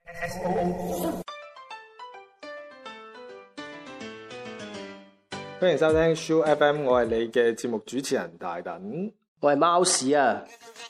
歡迎收聽 Soo FM， 我係你嘅節目主持人大躉， 我係貓屎啊！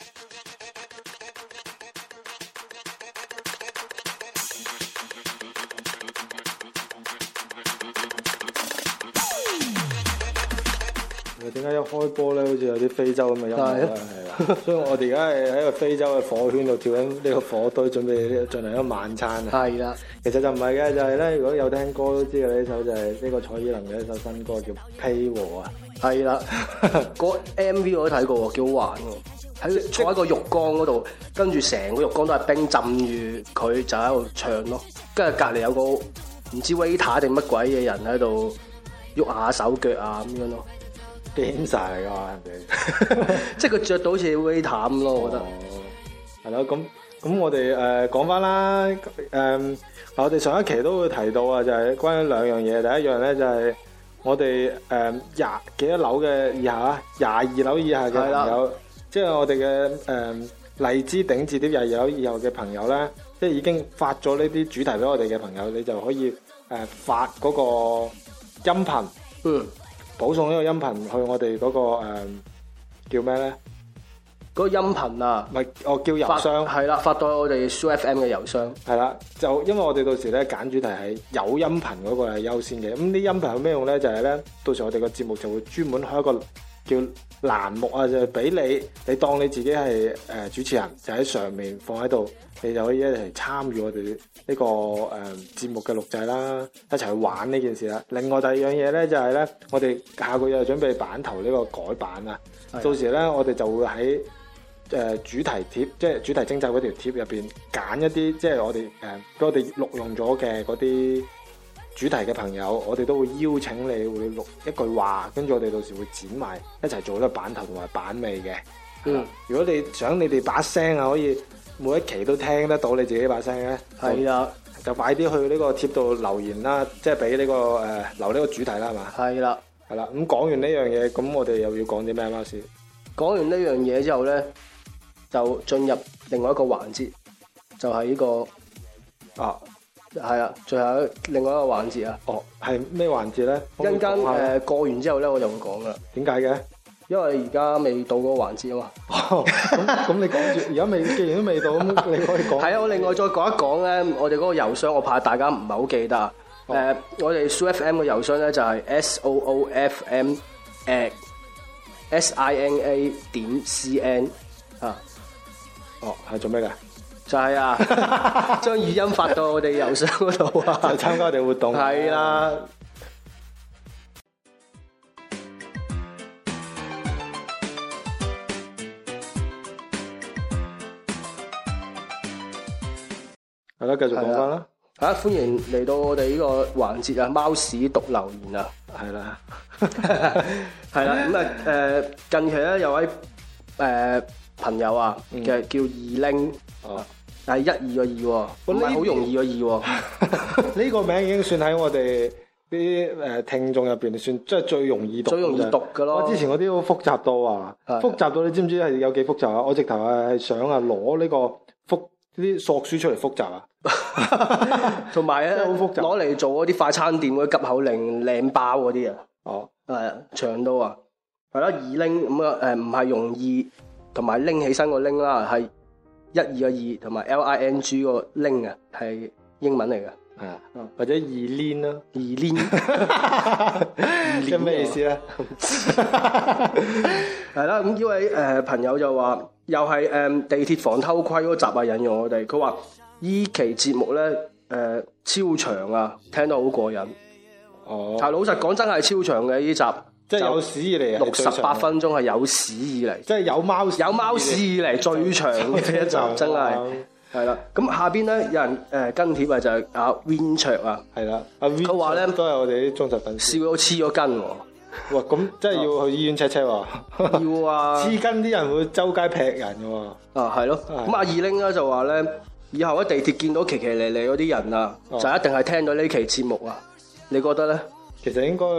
點解一開波咧，好似有啲非洲咁嘅音樂咧？係啦，所以我哋而家係喺個非洲嘅火圈度跳緊呢個火堆，準備進行一個晚餐啊！ 係啦， 其實就唔係嘅，就係咧，如果有聽歌都知嘅呢首就係呢個蔡依林嘅一首新歌叫《披和》啊！ 係啦，個 MV 我都睇過，幾好玩喎！坐喺個浴缸嗰度，跟住成個浴缸都係冰浸住佢，就喺度唱咯。跟住隔離有個唔知 waiter 定乜鬼嘅人喺度喐下手腳啊咁樣咯。 癲晒嚟㗎嘛，人哋即係佢着到好似 waiter 咁咯，我覺得。 係咯，咁我哋講翻啦，我哋上一期都會提到啊，就係關於兩樣嘢。第一樣咧就係我哋廿幾多樓嘅以下啊，22樓以下嘅朋友，即係我哋嘅荔枝頂置啲22樓以後嘅朋友咧，即係已經發咗呢啲主題俾我哋嘅朋友，你就可以發嗰個音頻。保送呢個音頻去我哋嗰個叫咩咧？ 嗰個音頻啊， 唔係我叫郵箱， 係啦，發到我哋 Soo FM 嘅郵箱。係啦， 就因為我哋到時咧揀主題係有音頻嗰個係優先嘅。咁啲音頻有咩用咧？就係咧，到時我哋個節目就會專門開一個叫欄目啊，就係俾你當你自己係主持人，就喺上面放喺度，你就可以一齊參與我哋呢個節目嘅錄製啦，一齊去玩呢件事啦。另外第二樣嘢咧就係咧，我哋下個月就準備版頭呢個改版啊。到時咧我哋就會喺主題貼，即係主題徵集嗰條貼入邊揀一啲，即係我哋俾我哋錄用咗嘅嗰啲主題嘅朋友，我哋都會邀請你，會錄一句話，跟住我哋到時會剪埋一齊做呢個版頭同埋版尾嘅。如果你想你哋把聲啊，可以每一期都聽得到你自己把聲咧，係啦，就快啲去呢個貼度留言啦，即係俾呢個留呢個主題啦，係嘛？係啦。咁講完呢樣嘢，咁我哋又要講啲咩貓屎？ 講完呢樣嘢之後咧，就進入另外一個環節，就係呢個係啊，最後另外一個環節啊。 係咩環節咧？ 一陣間過完之後咧，我就會講噶啦。 點解嘅？ 因為而家未到嗰個環節啊嘛。 咁你講住，而家未，既然都未到，咁你可以講。係啊， 我另外再講一講咧，我哋嗰個郵箱，我怕大家唔係好記得啊。我哋 Soo FM 嘅郵箱咧就係 soofm@sina.cn 啊。 係做咩㗎？ 就係將語音發到我哋郵箱嗰度啊， 就參加我哋活動。係啦。係啦，繼續講翻啦。 歡迎嚟到我哋呢個環節啊，貓屎讀留言啊。 係啦， 係啦。咁近期咧有位朋友啊嘅叫二拎，係12個2喎，唔係好容易個2喎。 呢個名已經算喺我哋啲聽眾入邊算即係最容易讀嘅咯。 我之前嗰啲好複雜到啊，複雜到你知唔知係有幾複雜啊？我直頭係想攞呢個啲索書出嚟複雜啊！ 同埋咧， 好複雜， 攞嚟做嗰啲快餐店嗰啲急口令靚包嗰啲啊。長到啊，係啦，二拎咁啊，唔係容易，同埋拎起身個拎啦，係12個2同埋 LING 個拎啊，係英文嚟嘅。 係啊，或者二鏈啦， 二鏈， 即係咩意思咧？ 係啦，咁呢位朋友就話，又係地鐵防偷窺嗰集啊，引用我哋，佢話依期節目咧超長啊，聽得好過癮。但老實講真係超長嘅呢集， 即係有史以嚟 68分鐘係有史以嚟， 即係有貓史以嚟最長嘅一集，真係。係啦，咁下邊咧有人跟帖啊，就係阿 Win 卓啊， 係啦，阿 Win 佢話咧都係我哋啲忠實粉絲， 笑到黐咗筋喎。 哇，咁真係要去醫院 check 喎。 要啊， 黐筋啲人會周街劈人嘅喎。 係咯，咁阿二拎咧就話咧，以後喺地鐵見到奇奇離離嗰啲人啊，就一定係聽到呢期節目啊。你覺得咧？ 其實應該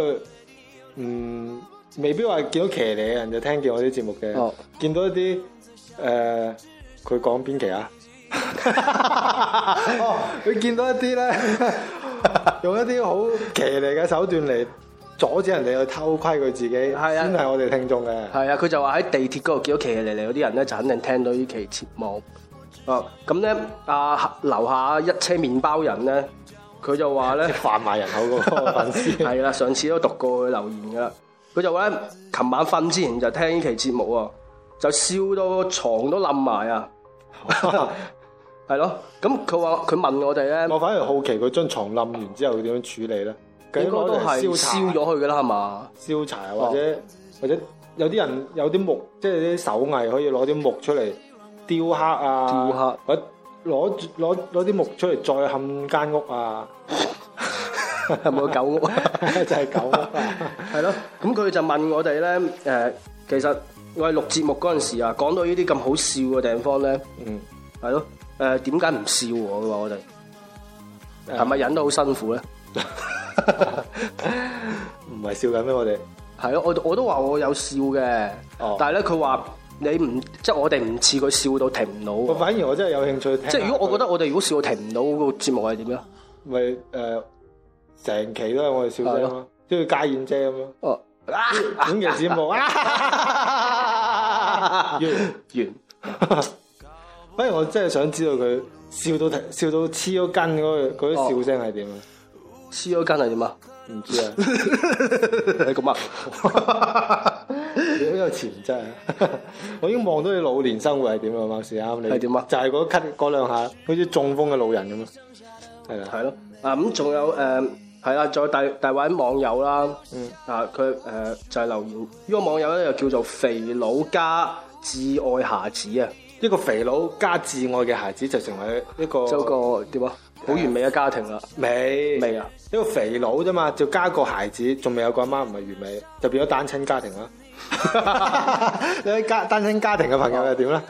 未必話見到騎呢嘅人就聽見我啲節目嘅，見到一啲佢講邊期啊？ 哦，佢見到一啲咧，用一啲好騎呢嘅手段嚟阻止人哋去偷窺佢自己，先係我哋聽眾嘅。 係啊，佢就話喺地鐵嗰度見到騎呢嗰啲人咧，就肯定聽到呢期節目。哦，咁咧樓下一車麵包人咧，佢就話咧販賣人口嗰個粉絲係啦，上次都讀過佢留言噶啦。佢就話咧，琴晚瞓之前就聽呢期節目啊，就笑到床都冧埋啊！係咯，咁佢問我哋咧， 我反而好奇佢張床冧完之後佢點樣處理咧？ 應該都係燒咗佢噶啦，係嘛？ 燒柴或者有啲人有啲木，即係啲手藝可以攞啲木出嚟雕刻啊，或者攞啲木出嚟再冚間屋啊。 有冇狗屋啊？ 就係狗屋啊！ 係咯，咁佢就問我哋咧，其實我哋錄節目嗰陣時啊，講到呢啲咁好笑嘅地方咧，係咯，點解唔笑喎？佢話我哋係咪忍得好辛苦咧？ 唔係笑緊咩？我哋係咯，我都話我有笑嘅，但係咧佢話你唔即係我哋唔似佢笑到停唔到。 反而我真係有興趣聽。即係如果我覺得我哋如果笑到停唔到，個節目係點咧？ 咪成期都係我哋笑聲咯，都要家燕姐咁咯。哦，本期節目完。反而我真係想知道佢笑到黐咗筋嗰啲笑聲係點啊？ 黐咗筋係點啊？ 唔知啊。 你咁啊？ 你好有潛質啊！我已經望到你老年生活係點啊？貓屎啱你係點啊？就係嗰咳嗰兩下，好似中風嘅老人咁啊！係啦， 係咯。咁仲有係啦，再大位網友啦，佢就係留言，呢個網友咧就叫做肥佬加摯愛孩子啊， 一個肥佬加摯愛嘅孩子就成為一個點啊，好完美嘅家庭啦， 未啊，一個肥佬啫嘛，就加個孩子，仲未有個阿媽，唔係完美，就變咗單親家庭啦。你啲單親家庭嘅朋友又點咧？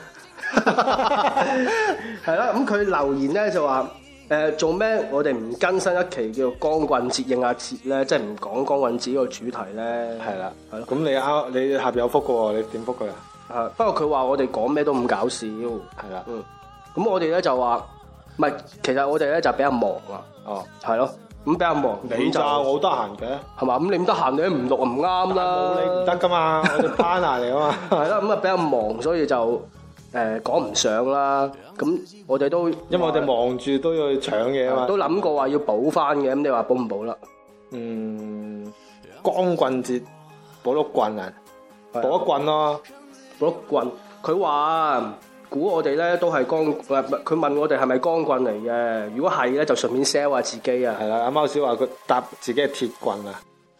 係啦，咁佢留言咧就話。做咩我哋唔更新一期叫光棍節應下節咧？即係唔講光棍節呢個主題咧？係啦，係咯。咁你下邊有覆嘅喎，你點覆佢啊？ 不過佢話我哋講咩都咁搞笑，係啦。咁我哋咧就話，唔係，其實我哋咧就比較忙啊。哦，係咯。咁比較忙， 你咋？我好得閒嘅， 係嘛？咁你唔得閒，你唔錄唔啱啦。 冇你唔得噶嘛，我哋 partner 嚟啊嘛。 係啦，咁啊比較忙，所以就。講唔上啦，咁我哋都因為我哋忙住都要去搶嘢啊嘛， 都諗過話要補翻嘅，咁你話補唔補啦？ 光棍節補碌棍啊，補一棍咯， 補碌棍。佢話估我哋咧都係佢問我哋係咪光棍嚟嘅？如果係咧，就順便 sell 下自己啊。 係啦，阿貓小話佢搭自己係鐵棍啊，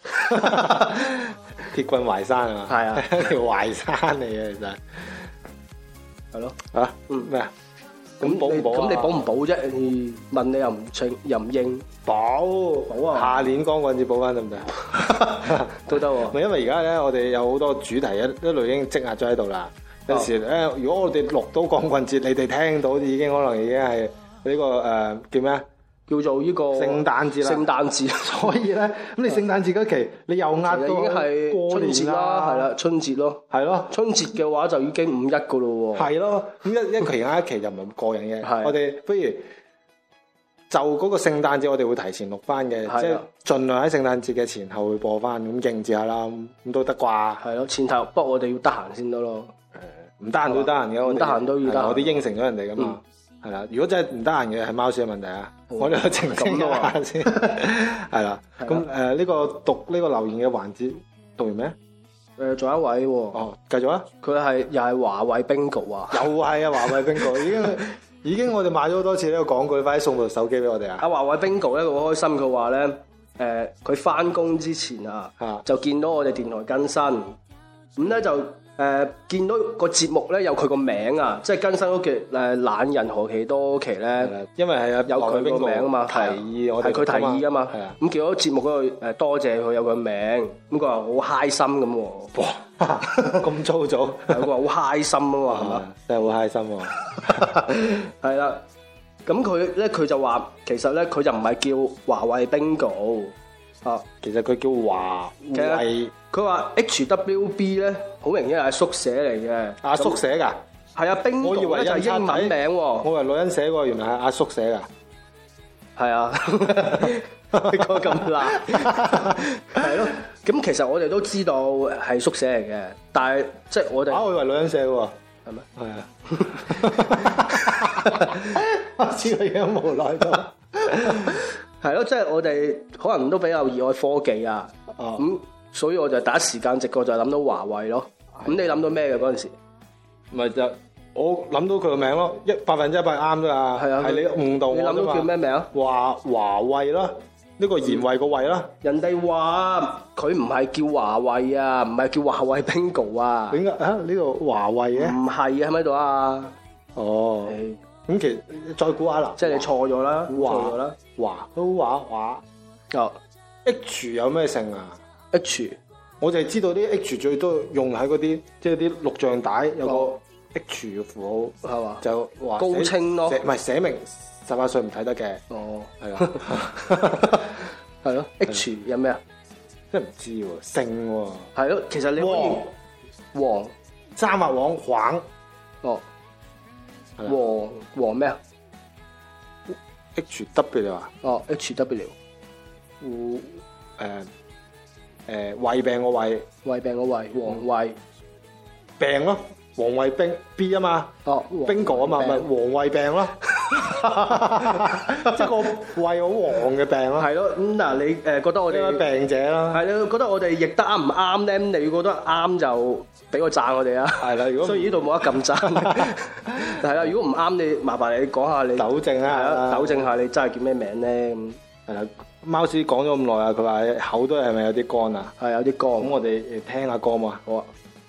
鐵棍淮山啊嘛，係啊，條淮山嚟嘅其實。 係咯， 咩啊？咁補唔補啊？ 咁你補唔補啫？問你又唔應， 補啊！下年光棍節補翻得唔得？ 都得喎。 咪因為而家咧，我哋有好多主題一路已經積壓咗喺度啦。有時咧，如果我哋錄到光棍節，你哋聽到已經可能已經係呢個叫咩啊？叫做呢個聖誕節啦。聖誕節，所以咧，咁你聖誕節嗰期你又壓到已經係春節啦，係啦，春節咯，係咯。春節嘅話就已經5-1噶咯喎。係咯， 咁一期一期就唔係咁過癮嘅。我哋不如就嗰個聖誕節，我哋會提前錄翻嘅，即係盡量喺聖誕節嘅前後會播翻，咁應節下啦，咁都得啩？係咯，前頭不過我哋要得閒先得咯。唔得閒都得閒嘅，唔得閒都要得閒。我哋應承咗人哋噶嘛。係啦，如果真係唔得閒嘅係貓屎嘅問題啊，我哋去澄清一下先。係啦，咁呢個讀呢個留言嘅環節讀完咩？ 仲有一位喎。 哦，繼續啊！ 佢又係華為 Bingo 啊！ 又係啊，華為 Bingo 已經我哋買咗好多次呢個廣告，你快啲送部手機俾我哋啊！阿華為 Bingo 咧，佢好開心，佢話咧佢翻工之前就見到我哋電台更新，咁咧就。見到個節目咧有佢個名啊，即係更新嗰期懶人何其多期咧， 因為係有佢個名啊嘛， 提議我哋係佢提議噶嘛，咁見到節目嗰度多謝佢有個名，咁佢話好開心咁喎， 哇咁粗糙， 佢話好開心啊嘛，係嘛， 真係好開心喎，係啦，咁佢就話其實咧佢就唔係叫華為 Bingo 啊， 其實佢叫華為。 佢話 HWB 咧，好明顯係縮寫嚟嘅。 縮寫㗎？ 係啊，Bingo 咧就係英文名喎。 我以為女人寫喎，原來係阿叔寫㗎。 係啊，個咁辣，係咯。咁其實我哋都知道係縮寫嚟嘅，但係即係我哋我以為女人寫喎， 係咩？ 係啊，我知道嘢無奈到。 係咯，即係我哋可能都比較熱愛科技啊。咁所以我就第一時間直覺就諗到華為咯。咁你諗到咩嘅嗰陣時？ 咪就我諗到佢個名咯，100%啱啫嘛。係啊，係你誤導我啫嘛。 你諗到叫咩名啊？ 華為啦，呢個賢惠個惠啦。 人哋話佢唔係叫華為啊，唔係叫華為 Bingo 啊。 點解啊？呢個華為嘅？ 唔係啊，喺咪度啊？ 哦，咁其實再估下啦。 即係你錯咗啦，錯咗啦。 華哦 H 有咩姓啊 ？H 我就係知道啲 H 最多用喺嗰啲即係啲錄像帶有個 H 嘅符號係嘛？就話高清咯， 唔係寫明18歲唔睇得嘅。 哦， 係啊， 係咯。H 有咩啊？ 真係唔知喎，姓喎。 係咯，其實你可以黃三畫黃黃哦，黃咩啊 ？HW 啊？ 哦 HW。 胃病個胃， 胃病個胃，黃胃病咯，黃胃冰 B 啊嘛，Bingo 啊嘛，咪黃胃病咯，即係個胃好黃嘅病咯。 係咯，咁嗱你覺得我哋病者啦， 係你覺得我哋譯得啱唔啱咧？你覺得啱就俾個讚我哋啊。係啦，如果所以呢度冇得撳讚，係啦。如果唔啱，你麻煩你講下你糾正啊， 糾正下你真係叫咩名咧？咁係啦。貓屎講咗咁耐啊，佢話口都係咪有啲乾啊？ 係有啲乾。咁我哋聽下歌嘛，好啊。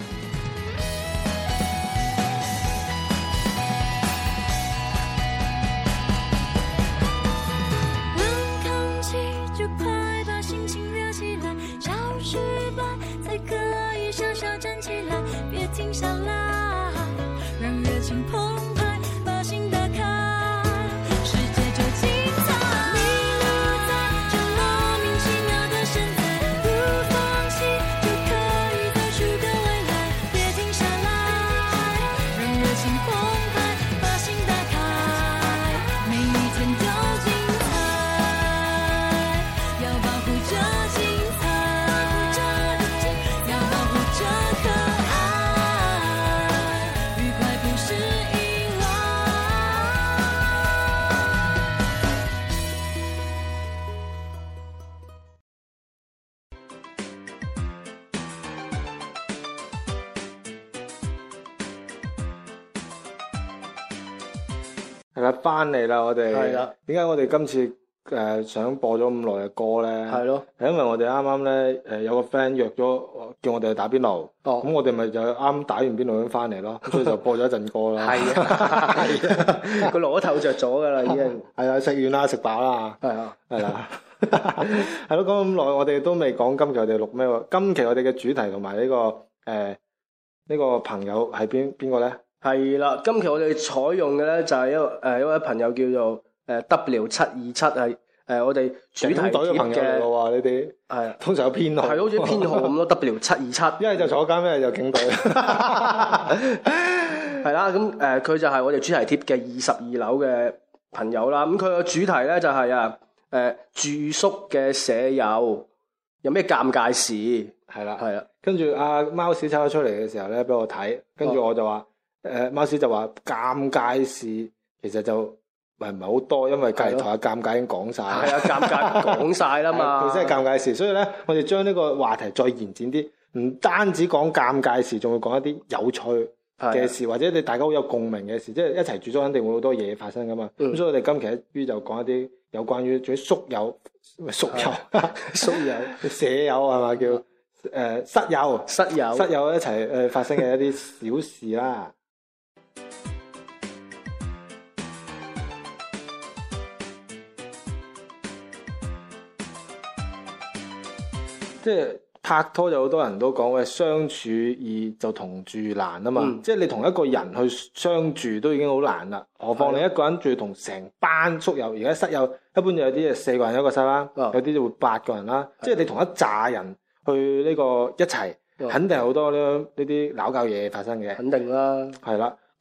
係啦，翻嚟啦，我哋。係啦。點解我哋今次想播咗咁耐嘅歌咧？係咯。係因為我哋啱啱咧有個 friend 約咗叫我哋去打邊爐。哦。咁我哋咪就啱打完邊爐咁翻嚟咯，所以就播咗一陣歌啦。係啊。係啊。個爐都透着咗噶啦，已經。係啊，食完啦，食飽啦。係啊。係啦。係咯，講咁耐，我哋都未講今期我哋錄咩喎？今期我哋嘅主題同埋呢個呢個朋友係邊個咧？係啦，今期我哋採用嘅咧就係一位朋友叫做W727，係我哋主題貼嘅朋友嚟嘅喎，呢啲係通常有編號，係好似編號咁咯，W727，一係就坐監，一係就警隊，係啦，咁佢就係我哋主題貼嘅22樓嘅朋友啦。咁佢個主題咧就係住宿嘅舍友有咩尷尬事？係啦，係啦。跟住阿貓屎抽咗出嚟嘅時候咧，俾我睇，跟住我就話。貓屎就話尷尬事其實就唔係好多，因為隔籬台嘅尷尬已經講晒。係啊，尷尬講晒啦嘛。佢真係尷尬事，所以咧，我哋將呢個話題再延展啲，唔單止講尷尬事，仲會講一啲有趣嘅事，或者你大家好有共鳴嘅事，即係一齊住咗肯定會好多嘢發生噶嘛。咁所以我哋今期一於就講一啲有關於仲有宿友、宿友、宿友、舍友係嘛叫室友一齊發生嘅一啲小事啦。即係拍拖就好多人都講喂，相處易就同住難啊嘛，即係你同一個人去相處都已經好難啦，何況你一個人仲要同成班宿友，而家室友一般就有啲係4個人一個室啦，有啲就會8個人啦，即係你同一紮人去呢個一齊，肯定係好多呢啲鬧交嘢發生嘅。肯定啦，係啦，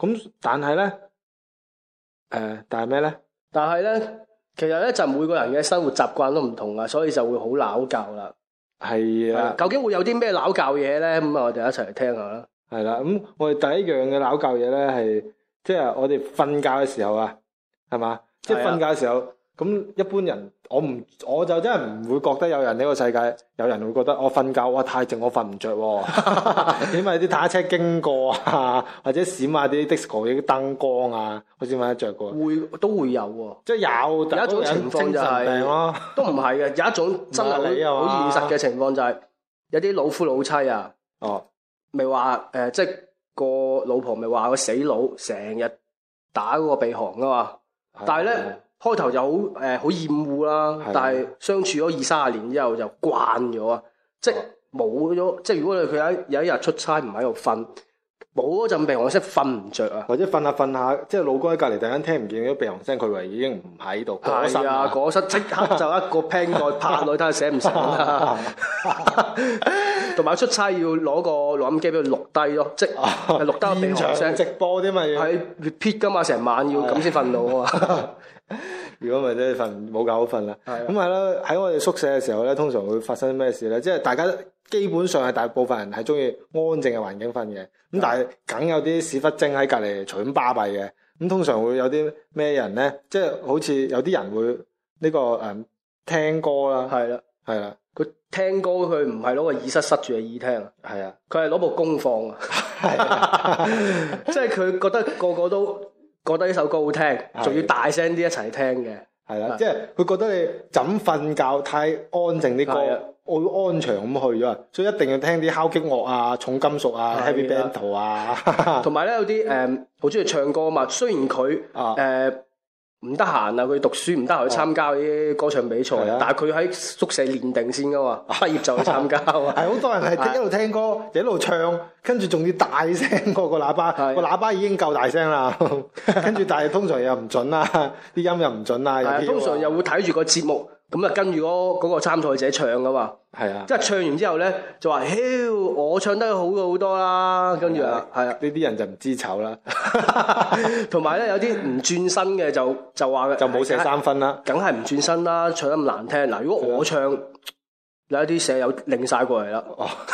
咁但係咧，但係咩咧？ 但係咧，其實咧就每個人嘅生活習慣都唔同啊，所以就會好拗教啦。 係啊， 究竟會有啲咩拗教嘢咧？咁啊，我哋一齊嚟聽下啦。 係啦，咁我哋第一樣嘅拗教嘢咧係，即係我哋瞓覺嘅時候啊，係嘛？即係瞓覺嘅時候，咁一般人我就真係唔會覺得有人呢個世界有人會覺得我瞓覺哇太靜，我瞓唔着喎。因為啲坦克車經過啊，或者閃下啲 disco 啲燈光啊，我先瞓得着嘅。 都會有喎， 即係有一種情況就係都唔係嘅，有一種真係好現實嘅情況就係有啲老夫老妻啊，咪話即係個老婆咪話個死佬成日打嗰個鼻鼾噶嘛，但係咧開頭就好厭惡啦，但係相處咗20-30年之後就慣咗啊，即係冇咗，即係如果佢有一日出差唔喺度瞓，冇嗰陣鼻鼾聲瞓唔着啊， 或者瞓下瞓下，即係老公喺隔離突然間聽唔見咗鼻鼾聲，佢以為已經唔喺度， 係啊，嗰室即刻就一個 pen 袋拍落去睇下醒唔醒啦。同埋出差要攞個錄音機俾佢錄低咯，即係錄低個鼻鼾聲。 直播啲嘛要係 repeat 噶嘛，成晚要咁先瞓到啊嘛。 如果唔係真係冇覺好瞓啦。咁係咯，喺我哋宿舍嘅時候咧，通常會發生咩事咧？即係大家基本上係大部分人係中意安靜嘅環境瞓嘅。咁但係梗有啲屎忽精喺隔離隨咁巴閉嘅。咁通常會有啲咩人咧？即係好似有啲人會呢個聽歌啦。係啦。 佢聽歌佢唔係攞個耳塞塞住個耳聽啊。係啊。佢係攞部功放啊。係。即係佢覺得個個都覺得呢首歌好聽，仲要大聲啲一齊聽嘅。係啦。 即係佢覺得你枕瞓覺太安靜啲歌。我要安詳咁去咗，所以一定要聽啲敲擊樂啊、重金屬啊、heavy band 啊。同埋咧有啲好中意唱歌啊嘛，雖然佢唔得閒啊，佢讀書唔得閒去參加啲歌唱比賽，但係佢喺宿舍練定先噶嘛，畢業就去參加啊。係好多人係一路聽歌一路唱，跟住仲要大聲過個喇叭，個喇叭已經夠大聲啦。跟住但係通常又唔準啦，啲音又唔準啦。 通常又會睇住個節目。咁啊，跟住嗰個參賽者唱噶嘛，係啊，即係唱完之後咧，就話：我唱得好過好多啦。跟住啊，係啊， 呢啲人就唔知醜啦。 同埋咧，有啲唔轉身嘅就話就冇射3分啦， 梗係唔轉身啦，唱得咁難聽。嗱，如果我唱，有一啲舍友擰晒過嚟啦。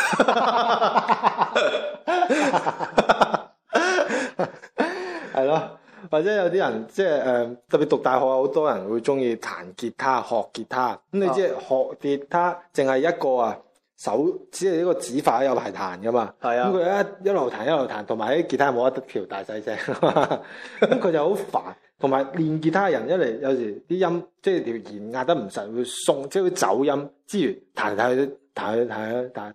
係咯。或者有啲人即係特別讀大學，好多人會中意彈吉他、學吉他。咁你知學吉他淨係一個只係一個指法有排彈噶嘛。係啊。咁佢一路彈一路彈，同埋啲吉他冇得調大細聲，咁佢就好煩。同埋練吉他嘅人一嚟，有時啲音即係條弦壓得唔實，會鬆，即係會走音。之餘彈嚟彈。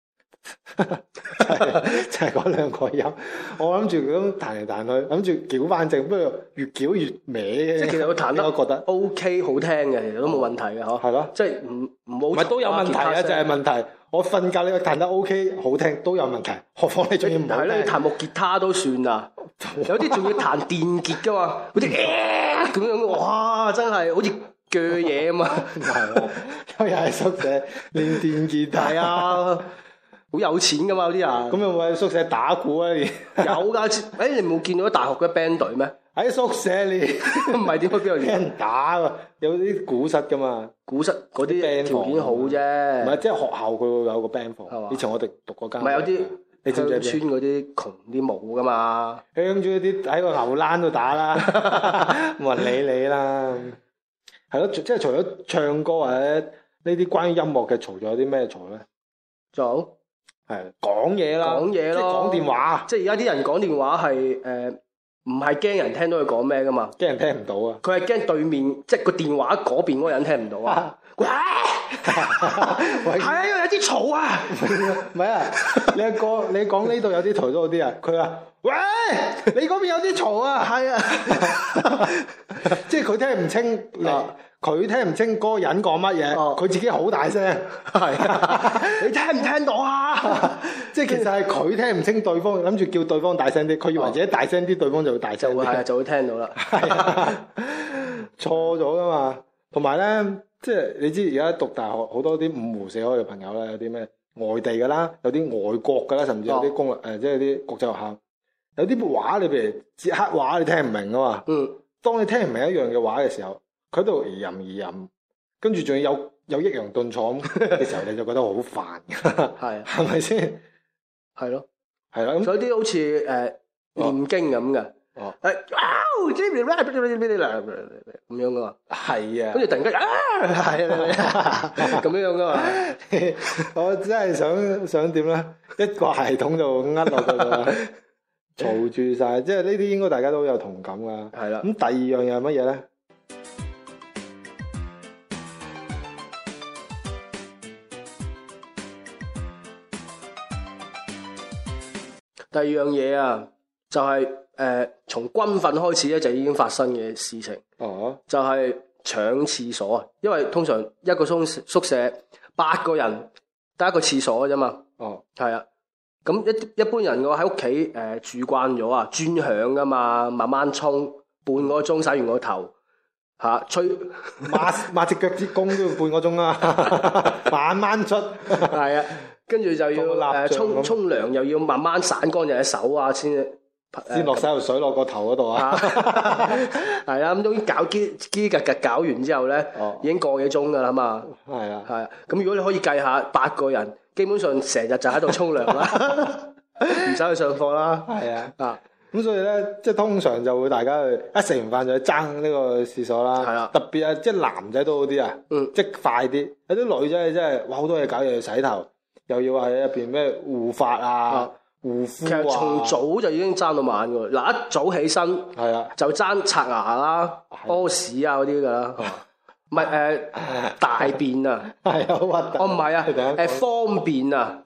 就係嗰兩個音，我諗住咁彈嚟彈去，諗住攪翻正，不過越攪越歪嘅。 即係其實佢彈得，我覺得 OK 好聽嘅，其實都冇問題嘅嗬。係咯，即係唔好。都有問題啊，就係問題。我瞓覺你彈得 OK 好聽都有問題，何況你仲要唔好聽？係咧，彈木吉他都算啦，有啲仲要彈電吉噶嘛，嗰啲咁樣，哇，真係好似鋸嘢啊嘛。 又係宿舍練電吉他啊！ 好有錢噶嘛，有啲人。咁有冇喺宿舍打鼓啊？有㗎，你冇見到啲大學嘅 band 隊咩？ 喺宿舍你唔係點去邊度練打㗎？有啲鼓室噶嘛？鼓室嗰啲 band 條件好啫。唔係，即係學校佢會有個 band 房。以前我哋讀嗰間。唔係有啲你知唔知鄉村嗰啲窮啲冇噶嘛？鄉村嗰啲喺個牛欄度打啦，冇人理你啦。係咯，即係除咗唱歌或者呢啲關於音樂嘅嘈，仲有啲咩嘈咧？仲係講嘢啦，講嘢咯，即係講電話。即係而家啲人講電話係唔係驚人聽到佢講咩噶嘛？驚人聽唔到啊！佢係驚對面即係個電話嗰邊嗰個人聽唔到啊！喂，係啊，因為有啲嘈啊！唔係啊，你阿哥你講呢度有啲嘈咗啲啊！佢話：喂，你嗰邊有啲嘈啊！係啊，即係佢聽唔清佢聽唔清嗰個人講乜嘢，佢自己好大聲，係啊！你聽唔聽到啊？即係其實係佢聽唔清對方，諗住叫對方大聲啲，佢以為自己大聲啲，對方就會大聲啲，係啊，就會聽到啦。係啊，錯咗噶嘛。同埋咧，即係你知而家讀大學好多啲五湖四海嘅朋友咧，有啲咩外地噶啦，有啲外國噶啦，甚至有啲公立即係啲國際學校。 有啲話你譬如捷克話你聽唔明啊嘛。當你聽唔明一樣嘅話嘅時候，佢喺度吟，跟住仲要有抑揚頓挫嘅時候，你就覺得好煩。 係係咪先？ 係咯， 係啦。咁有啲好似念經咁嘅。 哦， 咁樣噶嘛， 係啊， 跟住突然間係啊，咁樣噶嘛， 我真係想點咧？一個系統就呃落去啦，嘈住晒，即係呢啲應該大家都有同感噶。 係啦。 咁第二樣嘢係乜嘢咧？ 第二樣嘢啊，就係從軍訓開始咧就已經發生嘅事情。 哦， 就係搶廁所啊！因為通常一個宿舍8個人得一個廁所嘅啫嘛。 哦， 係啊。咁一般人我喺屋企住慣咗啊，專享噶嘛，慢慢沖半個鐘洗完個頭吹抹隻腳趾公都要半個鐘啊，慢慢出。 係啊，跟住就要沖涼，又要慢慢散乾淨隻手啊，先落洗頭水落個頭嗰度啊。 係啦，咁終於搞機格搞完之後咧，已經個幾鐘噶啦嘛。 係啊， 係啊。咁如果你可以計下8個人，基本上成日就喺度沖涼啦，唔使去上課啦。係啊。 咁所以咧，即係通常就會大家去一食完飯就去爭呢個廁所啦。係啊，特別啊，即係男仔都好啲啊。即係快啲。有啲女仔真係哇好多嘢搞，又要洗頭，又要喺入邊咩護髮啊。護膚啊，其實從早就已經爭到晚㗎啦。嗱，一早起身係啊，就爭刷牙啦、屙屎啊嗰啲㗎啦。唔係大便啊，係好核突。哦唔係啊，方便啊。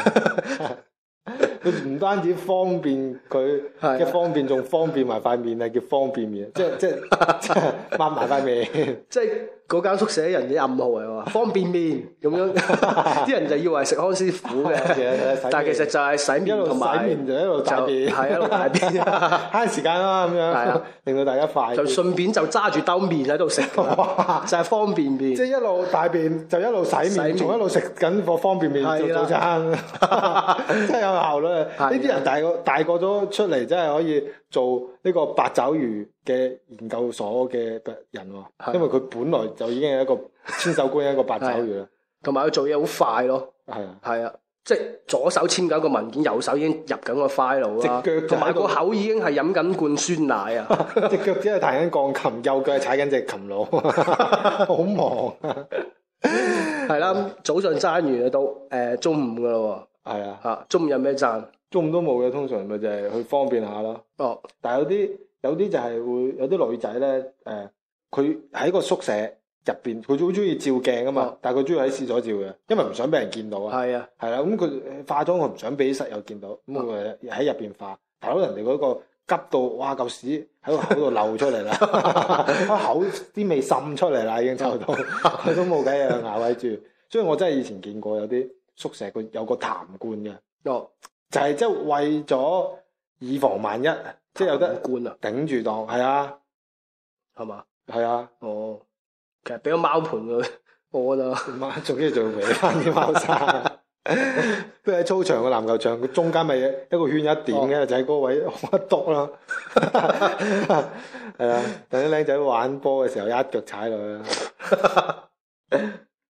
佢唔單止方便佢嘅方便，仲方便埋塊面啊，叫方便面，即係抹埋塊面。 即係嗰間宿舍人嘅暗號嚟喎，方便面咁樣，啲人就以為食康師傅嘅，但係其實就係洗面同埋洗面就一路大便， 係一路大便， 慳時間啦咁樣，令到大家快。 就順便就揸住兜面喺度食，就係方便面。 即係一路大便就一路洗面，仲一路食緊個方便面做早餐，真係有效率。呢啲人大個咗出嚟，真係可以做呢個八爪魚嘅研究所嘅人喎，因為佢本來就已經係一個千手觀音一個八爪魚啦， 同埋佢做嘢好快咯。係啊，即係左手簽緊個文件，右手已經入緊個 file 啦，同埋個口已經係飲緊罐酸奶啊， 隻腳只係彈緊鋼琴，右腳係踩緊隻琴佬，好忙啊。 係啦，早上爭完到中午噶咯。 係啊， 中午有咩爭？ 中午都冇嘅，通常咪就係去方便下咯。哦，但係有啲就係會有啲女仔咧，佢喺個宿舍入邊，佢好中意照鏡啊嘛，但係佢中意喺廁所照嘅，因為唔想俾人見到啊。係啊，係啦，咁佢化妝佢唔想俾室友見到，咁佢喺入邊化。大佬人哋嗰個急到，哇嚿屎喺個口度漏出嚟啦，口啲味滲出嚟啦，已經臭到，佢都冇計啊，咬喺住。所以我真係以前見過有啲宿舍佢有個痰罐嘅，就係即係為咗以防萬一，即係有得罐啊頂住檔，係啊，係嘛，係啊，哦，其實俾個貓盤佢屙啦，仲要俾翻啲貓砂，不如喺操場個籃球場，佢中間咪一個圈一點嘅，就喺嗰位一篤啦，係啊，等啲僆仔玩波嘅時候一腳踩落去啦。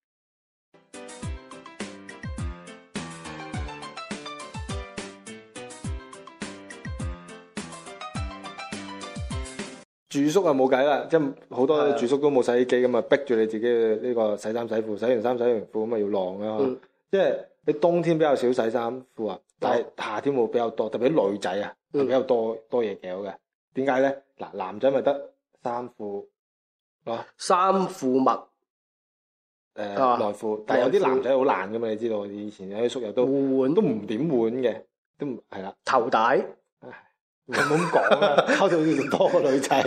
住宿啊冇計啦，即係好多住宿都冇洗衣機咁啊，逼住你自己嘅呢個洗衫洗褲，洗完衫洗完褲咁啊要晾啊。即係你冬天比較少洗衫褲啊，但係夏天會比較多，特別啲女仔啊，比較多嘢搞嘅。點解咧？嗱，男仔咪得衫褲啊，衫褲襪內褲，但係有啲男仔好懶噶嘛，你知道，以前有啲宿友都換都唔點換嘅，都唔係啦，頭帶。唔好咁講啦，溝到要多個女仔，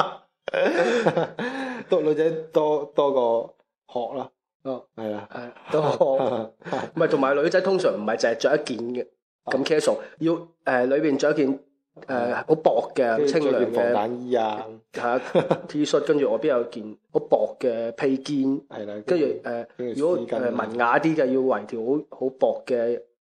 多女仔多個殼啦。哦，係啊，係多殼。唔係，同埋女仔通常唔係淨係着一件嘅咁 casual，要裏邊着一件好薄嘅清涼嘅防彈衣啊，係 T 恤，跟住外邊有件好薄嘅披肩，係啦，跟住如果文雅啲嘅要圍條好薄嘅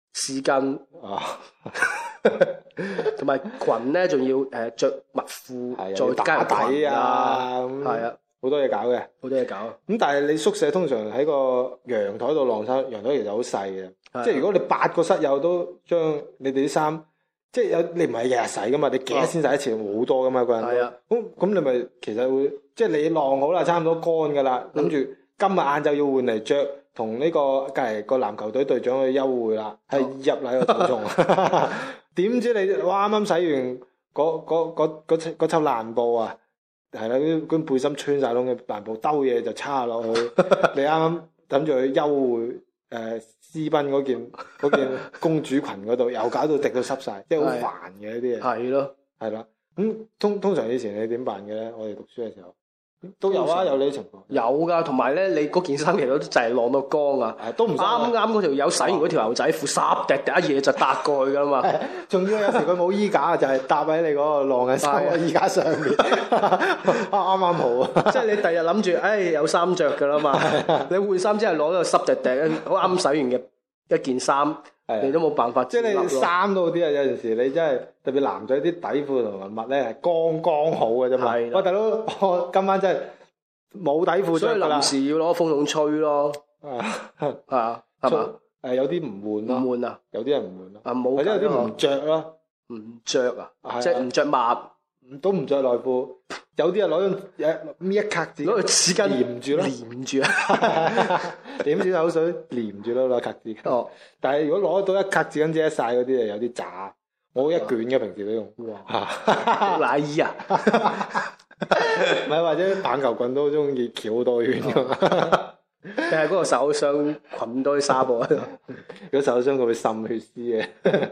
絲巾啊， 同埋裙咧，仲要着襪褲，再加打底裙啊， 係啊， 好多嘢搞嘅。 好多嘢搞。 咁但係你宿舍通常喺個陽台度晾衫，陽台其實好細嘅，即係如果你8個室友都將你哋啲衫，即係你唔係日日洗噶嘛，你幾日先洗一次？好多噶嘛，個人都。 係啊。 咁你咪其實會，即係你晾好啦，差唔多乾噶啦，諗住今日晏晝要換嚟着，同呢個隔離個籃球隊隊長去幽會啦，係入嚟個草叢。點知你哇啱啱洗完嗰抽爛布啊！係啦，嗰背心穿晒窿嘅爛布兜嘢就叉落去。你啱啱諗住去幽會私奔嗰件公主裙嗰度，又搞到滴到濕晒，即係好煩嘅呢啲嘢。 係咯， 係啦。咁通常以前你點辦嘅咧？我哋讀書嘅時候都有啊，有呢啲情況。 有噶，同埋咧，你嗰件衫其實都就係晾到乾啊， 都唔啱嗰條友洗完嗰條牛仔褲，濕滴滴一嘢就搭過去噶啦嘛。 仲要有時佢冇衣架，就係搭喺你嗰個晾嘅衫個衣架上面，啱啱好啊！ 即係你第日諗住，有衫着噶啦嘛。你換衫之後攞咗個濕滴滴，好啱洗完嘅一件衫。你都冇辦法， 即係你衫都好啲啊！有陣時你真係特別男仔啲底褲同埋襪咧係剛剛好嘅啫嘛。喂，大佬，我今晚真係冇底褲着㗎啦， 所以臨時要攞風筒吹咯。啊，係嘛？ 有啲唔換咯， 唔換啊？ 有啲人唔換咯， 冇， 或者有啲唔着咯， 唔着啊？即係唔着襪， 都唔着內褲。有啲人攞搣一格紙， 攞個紙巾黏住咯， 黏住啊！ 點少口水黏住咯，攞格紙巾。哦，但係如果攞到一格紙巾遮晒嗰啲有啲渣。我一卷嘅平時都用。 哇！奶衣啊？ 唔係，或者棒球棍都好中意翹多圈㗎嘛。 定係嗰個受傷捆多啲紗布喺度？ 如果受傷佢會滲血絲嘅。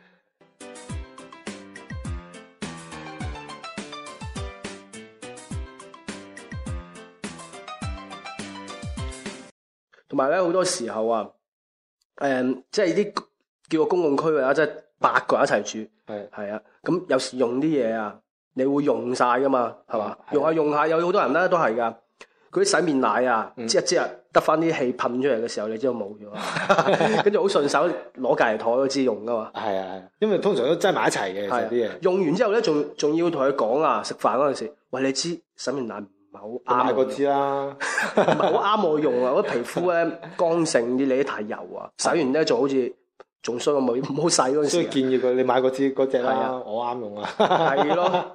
同埋咧，好多時候啊，即係啲叫個公共區域啊，即係8個人一齊住，係啊，咁有時用啲嘢啊，你會用晒噶嘛，係嘛？用下，有好多人咧都係噶，嗰啲洗面奶啊，擠一擠啊，得翻啲氣噴出嚟嘅時候，你知道冇咗，跟住好順手攞隔離台嗰支用噶嘛。係啊， 因為通常都擠埋一齊嘅，其實啲嘢。 用完之後咧，仲要同佢講啊，食飯嗰陣時，喂，你知洗面奶唔係好啱， 買過支啦， 唔係好啱我用啊！我皮膚咧乾性啲，你啲太油啊，洗完咧仲好似仲衰過冇唔好洗嗰陣時。 所以建議佢你買過支嗰隻啦，我啱用啊。 係咯，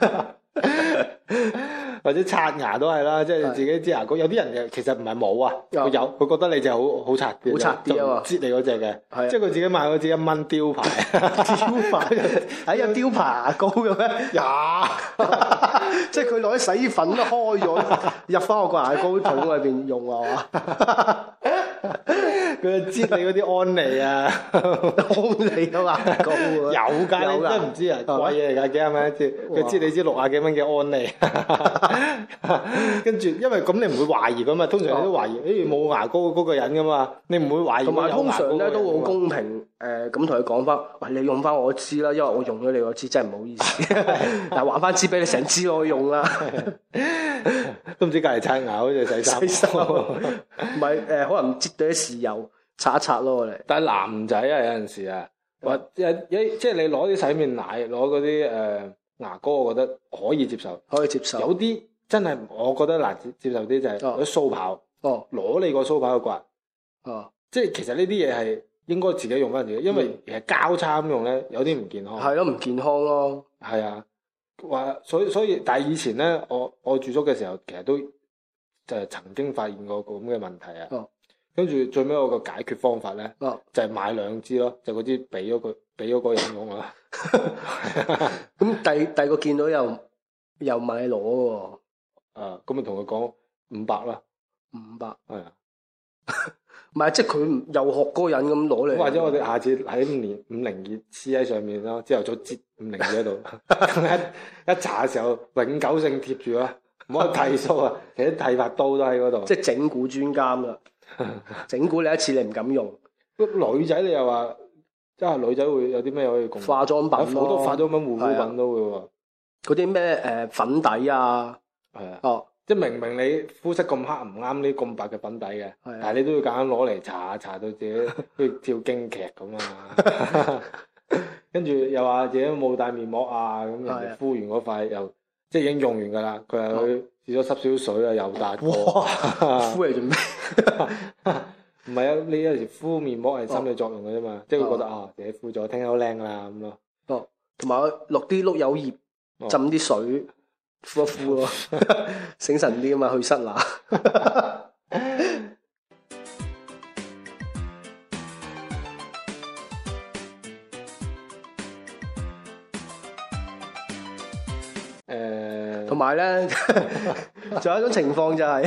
或者刷牙都係啦，即係自己支牙膏。有啲人其實唔係冇啊，佢覺得你隻好刷啲， 好刷啲啊嘛， 擠你嗰隻嘅，即係佢自己買嗰支1蚊雕牌，雕牌有雕牌牙膏嘅咩？即係佢攞啲洗衣粉都開咗，入翻我個牙膏桶裏邊用啊嘛。 佢就擠你嗰啲安利啊， 安利都牙膏啊， 有㗎，你真係唔知啊，貴嘢嚟㗎，幾廿蚊一支，佢擠你支60幾蚊嘅安利。跟住，因為咁你唔會懷疑㗎嘛，通常你都懷疑，冇牙膏嗰個人㗎嘛，你唔會懷疑。 同埋通常咧都好公平，咁同佢講翻，喂，你用翻我支啦，因為我用咗你個支，真係唔好意思，但係還翻支俾你，成支我用啦。 都唔知隔離刷牙好似洗衫， 唔係可能擠到啲豉油擦一擦咯，我哋。 但係男仔啊，有陣時啊，或即係你攞啲洗面奶，攞嗰啲牙膏，我覺得可以接受， 可以接受。 有啲真係我覺得難接受啲就係攞鬚刨，攞你個鬚刨去刮，即係其實呢啲嘢係應該自己用翻自己，因為其實交叉咁用咧有啲唔健康。 係咯，唔健康咯。 係啊。所以，但係以前咧，我住宿嘅時候，其實都就係曾經發現過個咁嘅問題啊。跟住最尾我個解決方法咧，就係買2支咯，就嗰支俾咗嗰個人用啦。 咁第二個見到又問你攞喎。 咁咪同佢講500啦。 500。係啊。唔係， 即係佢又學嗰個人咁攞嚟。 或者我哋下次喺502黐喺上面咯，朝頭早擠502喺度，一搽嘅時候永久性貼住啦，唔好去剃鬚啊！其實剃髮刀都喺嗰度。即係整蠱專家啦，整蠱你一次你唔敢用。 女仔你又話，即係女仔會有啲咩可以共？ 化妝品咯， 好多化妝品、護膚品都會喎。 嗰啲咩粉底啊，係啊。 即係明明你膚色咁黑唔啱呢咁白嘅粉底嘅，但係你都要揀攞嚟搽到自己好似跳京劇咁啊！跟住又話自己冇帶面膜啊，咁人哋敷完嗰塊又即係已經用完㗎啦，佢又去試咗濕少水啊，又帶過。 敷嚟做咩？ 唔係啊，你有時敷面膜係心理作用嘅啫嘛，即係會覺得自己敷咗，聽日好靚啦咁咯。 哦，同埋落啲碌柚葉，浸啲水敷一敷咯，醒神啲啊嘛，去濕乸。同埋咧，仲有一種情況就係，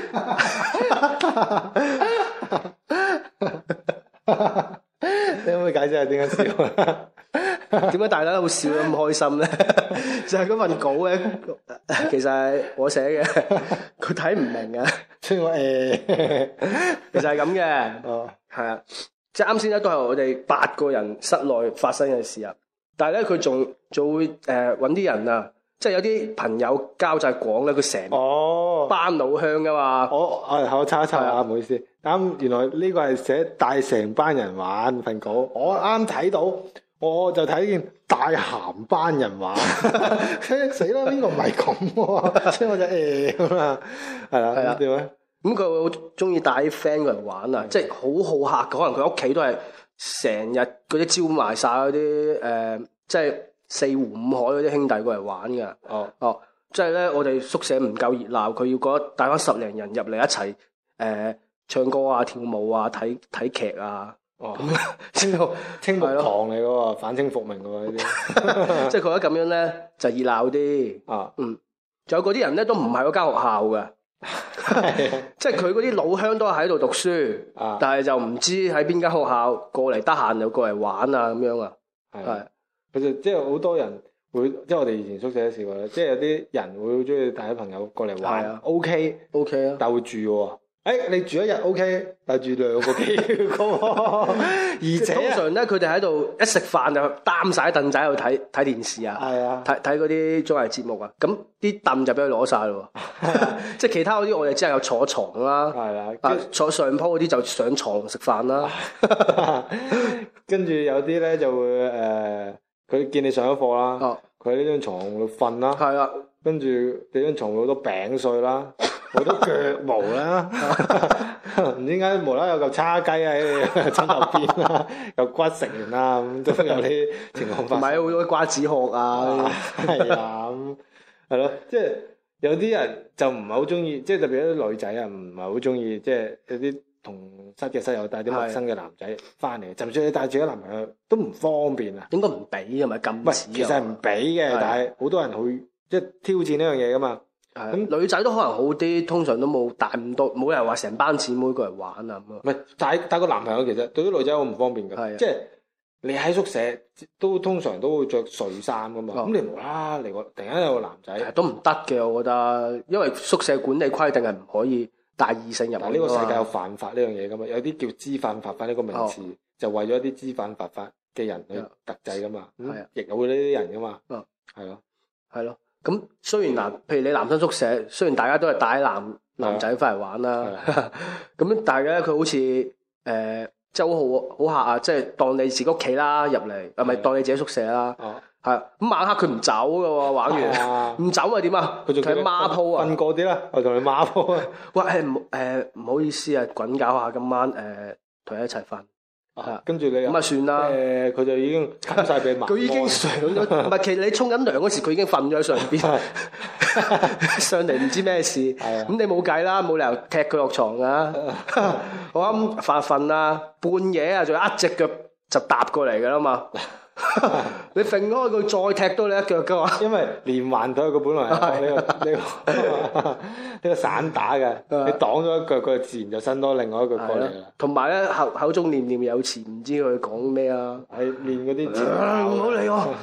你可唔可以解釋下點解笑啊？ 點解大家都好笑得咁開心咧？就係嗰份稿咧，其實係我寫嘅，佢睇唔明啊。 所以我其實係咁嘅。哦，係啊，即係啱先咧，都係我哋8個人室內發生嘅事啊。但係咧，佢仲會揾啲人啊。即係有啲朋友交際廣咧，佢成班老鄉噶嘛。 我查一查啊，唔好意思。啱，原來呢個係寫帶成班人玩份稿。我啱睇到，我就睇見帶鹹班人玩。死啦！邊個唔係咁喎？所以我就咁啊，係啦。點啊？ 咁佢好中意帶啲 friend 過嚟玩啊！即係好好客，可能佢屋企都係成日嗰啲招埋晒嗰啲即係4湖5海嗰啲兄弟過嚟玩㗎。即係咧，我哋宿舍唔夠熱鬧，佢要覺得帶翻10零人入嚟一齊唱歌啊、跳舞啊、睇劇啊。 清木堂嚟喎，反清復明喎呢啲。 即係佢覺得咁樣咧就熱鬧啲。仲有嗰啲人咧都唔係嗰間學校嘅。即係佢嗰啲老鄉都喺度讀書，但係就唔知喺邊間學校過嚟，得閒就過嚟玩啊咁樣啊。係， 其實即係好多人會，即係我哋以前宿舍都試過咧，即係有啲人會好中意帶啲朋友過嚟玩。OK 啊，但會住喎。你住一日 OK， 但係住2個幾月嘅喎。而且通常咧，佢哋喺度一食飯就擔晒凳仔喺度睇電視啊，睇嗰啲綜藝節目啊。咁啲凳就俾佢攞晒咯。即係其他嗰啲，我哋只係有坐床啦。坐上鋪嗰啲就上床食飯啦。 跟住有啲咧就會佢見你上咗課啦，佢喺呢張床度瞓啦。跟住你張床會好多餅碎啦。好多腳毛啦，唔知點解無啦有嚿叉雞喺你枕頭邊啦，有骨食完啦，咁都有啲情況發生。唔係好多瓜子殼啊，係啊，咁係咯，即係有啲人就唔係好中意，即係特別有啲女仔啊，唔係好中意，即係有啲同室嘅室友帶啲陌生嘅男仔翻嚟，就算你帶自己男朋友都唔方便啊。 應該唔俾係咪禁止？ 其實係唔俾嘅，但係好多人會即係挑戰呢樣嘢噶嘛。 咁女仔都可能好啲，通常都冇帶咁多，冇人話成班姊妹過嚟玩啊咁啊。 唔係帶個男朋友，其實對於女仔好唔方便㗎。即係你喺宿舍都通常都會着睡衫㗎嘛。咁你無啦嚟個突然間有個男仔都唔得嘅，我覺得，因為宿舍管理規定係唔可以帶異性入嚟。 呢個世界有犯法呢樣嘢㗎嘛？有啲叫知犯法法呢個名詞，就為咗一啲知犯法法嘅人去特制㗎嘛。亦有呢啲人㗎嘛。 係咯。咁雖然譬如你男生宿舍，雖然大家都係帶男仔翻嚟玩啦，咁但係咧佢好似即係好客啊，即係當你自己屋企啦入嚟，咪當你自己宿舍啦，係咁晚黑佢唔走㗎喎，玩完唔走咪點啊？佢仲喺孖鋪啊， 瞓過啲啦，我同你孖鋪啊。 喂唔好意思啊，滾搞下今晚同你一齊瞓。 跟住你咁啊算啦， 佢就已經冚晒俾埋。 佢已經上咗，唔係其實你沖緊涼嗰時，佢已經瞓咗喺上邊，上嚟唔知咩事。咁你冇計啦，冇理由踢佢落床噶。我啱發瞓啦，半夜啊，仲有一隻腳就搭過嚟噶啦嘛。你揈開佢再踢多你一腳噶嘛？ 因為連環腿佢本來係呢個散打嘅，你擋咗一腳，佢自然就伸多另外一腳過嚟啦。 同埋咧口中念念有詞，唔知佢講咩啊？ 係練嗰啲字。 唔好理我。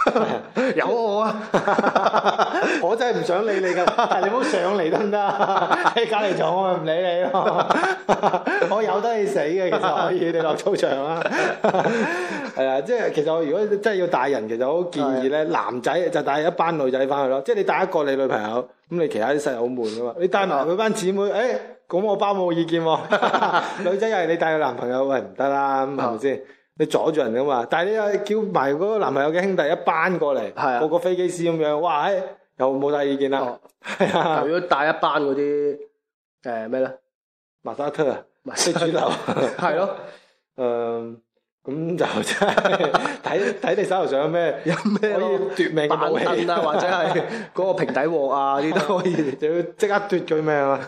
有我啊！ 我真係唔想理你㗎，但係你唔好上嚟得唔得？喺隔離床我咪唔理你咯。我由得你死嘅，其實可以你落操場啦。係啊，即係其實我如果真係要帶人，其實我好建議咧，男仔就帶一班女仔翻去咯。即係你帶一個你女朋友，咁你其他啲細路好悶噶嘛。你帶埋佢班姊妹，咁我包冇意見喎。女仔又係你帶個男朋友，喂唔得啦，咁係咪先？你阻住人噶嘛？但係你又叫埋嗰個男朋友嘅兄弟一班過嚟，個個飛機師咁樣，哇！又冇晒意見啦。係啊， 如果帶一班嗰啲咩咧？ 馬沙特啊，非主流係咯。 咁就真係睇你手頭上有咩可以奪命嘅武器啊，或者係嗰個平底鑊啊，啲都可以， 就要即刻奪佢命啊！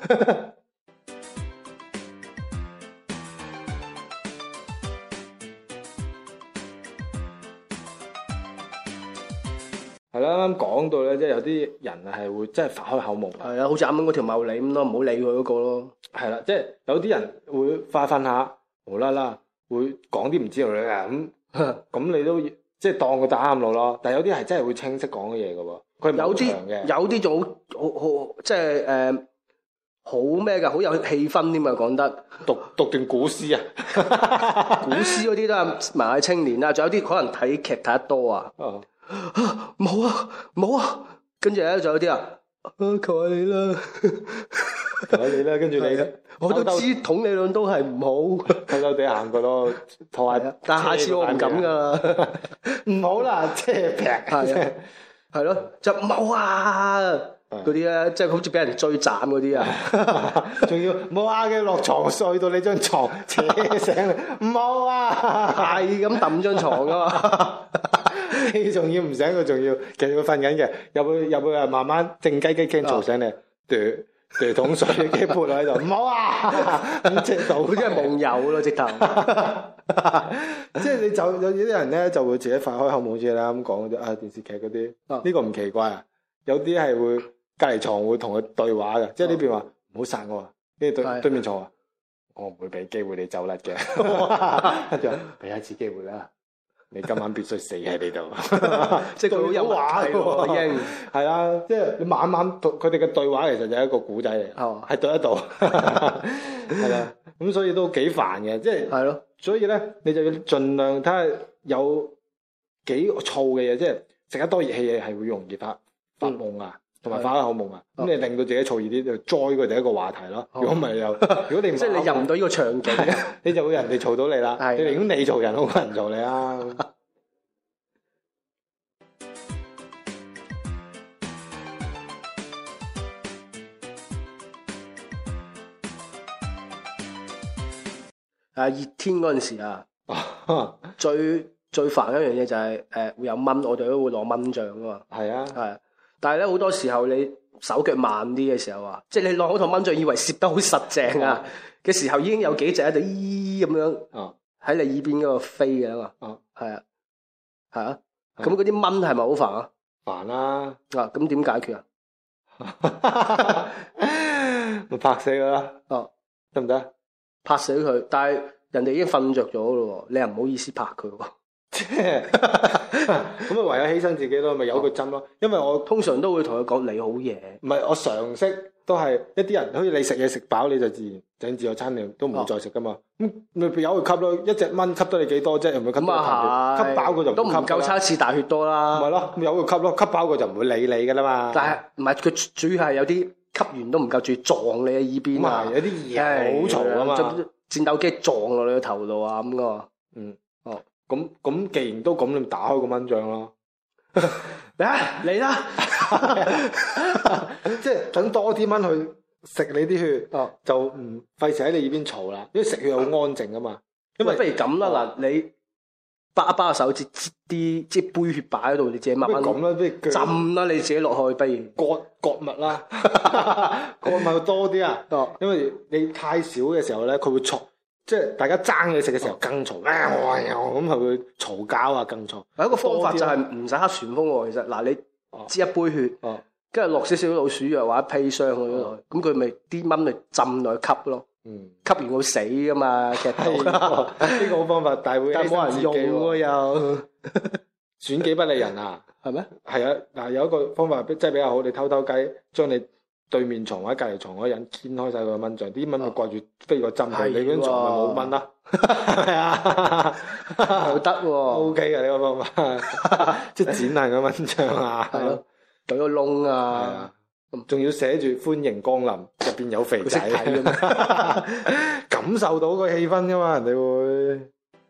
係啦，啱啱講到咧，即係有啲人係會真係發開口夢。 係啊，好似啱啱嗰條茂利咁咯，唔好理佢嗰個咯。 係啦，即係有啲人會瞓下，無啦啦會講啲唔知道嘅咁你都即係當佢打啱路咯。但係有啲係真係會清晰講嘅嘢嘅喎，佢唔長嘅。有啲仲好即係好咩㗎，好有氣氛添啊！講得讀段古詩啊， 古詩嗰啲都係文藝青年啦，仲有啲可能睇劇睇得多啊。冇啊，跟住咧仲有啲求下你啦， 求下你啦，跟住你， 我都知統理論都係唔好， 偷偷地行過咯，拖下， 但下次我唔敢噶啦， 唔好啦，即係劈， 係咯，就冇啊嗰啲咧，即係好似俾人追斬嗰啲啊， 仲要冇啊嘅落床睡到你張床扯醒你，唔好啊， 係咁揼張床噶嘛。 你仲要唔醒佢，仲要其實佢瞓緊嘅，入去啊，慢慢靜雞雞驚嘈醒你，對桶水嘅潑落喺度，唔好啊！咁即係好似係夢遊咯，直頭。 即係你就有啲人咧就會自己發開口夢，好似你啱講嗰啲電視劇嗰啲，呢個唔奇怪啊。有啲係會隔離床會同佢對話嘅，即係呢邊話唔好殺我啊，跟住對面床話我唔會俾機會你走甩嘅，跟住俾一次機會啦。你今晚必須死喺呢度， 即係佢好有話喎，已經係啦，即係你晚晚佢哋嘅對話其實就係一個古仔嚟，係對得到，係啦，咁所以都幾煩嘅，即係係咯，所以咧你就要盡量睇下有幾燥嘅嘢，即係食得多熱氣嘢係會容易發夢啊，同埋發開口夢啊，咁你令到自己燥熱啲，就載佢哋一個話題咯。如果唔係又，如果你唔即係你入唔到呢個場景，你就會人哋嘈到你啦。你寧願你嘈人，好過人嘈你啊！熱天嗰陣時啊，最煩一樣嘢就係會有蚊，我哋都會攞蚊帳噶嘛。係啊，係。但係咧好多時候你手腳慢啲嘅時候啊，即係你攞嗰套蚊帳以為攝得好實正啊嘅時候，已經有幾隻喺度咁樣喺你耳邊嗰度飛嘅嘛。係啊，係啊。咁嗰啲蚊係咪好煩啊？煩啦。咁點解決啊？咪拍死佢啦。得唔得？拍死佢，但係人哋已經瞓着咗咯，你又唔好意思拍佢喎。即係咁啊，唯有犧牲自己咯，咪由佢針咯。因為我通常都會同佢講你好嘢，唔係我常識都係一啲人，好似你食嘢食飽你就自然整自助餐，你都唔會再食噶嘛。咁咪由佢吸咯，一隻蚊吸得你幾多啫？又唔會吸到吸飽佢就都唔夠差次大血多啦。咪咯，咁由佢吸咯，吸飽佢就唔會理你噶啦嘛。但係唔係佢主要係有啲吸完都唔夠，仲要撞你嘅耳邊啊！有啲嘢好嘈啊嘛，戰鬥機撞落你個頭度啊咁噶。咁既然都咁，你打開個蚊帳咯。嚟啦！即係等多啲蚊去食你啲血，就唔費事喺你耳邊嘈啦。因為食血好安靜噶嘛。因為不如咁啦，嗱，你巴一巴個手指啲即係杯血擺喺度，你自己慢慢咁啦，不如浸啦，你自己落去，不如割脈啦，割脈多啲啊。因為你太少嘅時候咧，佢會嘈。即係大家爭嘢食嘅時候更嘈，咁係會嘈交啊，更嘈。有一個方法就係唔使黑旋風喎。其實嗱，你支一杯血，跟住落少少老鼠藥或者砒霜嗰度，咁佢咪啲蚊咪浸落去吸咯。吸完會死噶嘛，劇透。呢個好方法，但係冇人用喎又。 損己不利人啊！ 係咩？ 係啊，嗱有一個方法即係比較好，你偷雞將你對面床或者隔離床嗰個人掀開晒佢個蚊帳，啲蚊咪掛住飛個針，你嗰張床咪冇蚊啦，係咪啊？ 好得喎 ，OK 嘅呢個方法，即係剪爛個蚊帳啊， 係咯，對個窿啊， 仲要寫住歡迎光臨，入邊有肥仔，感受到個氣氛噶嘛，人哋會。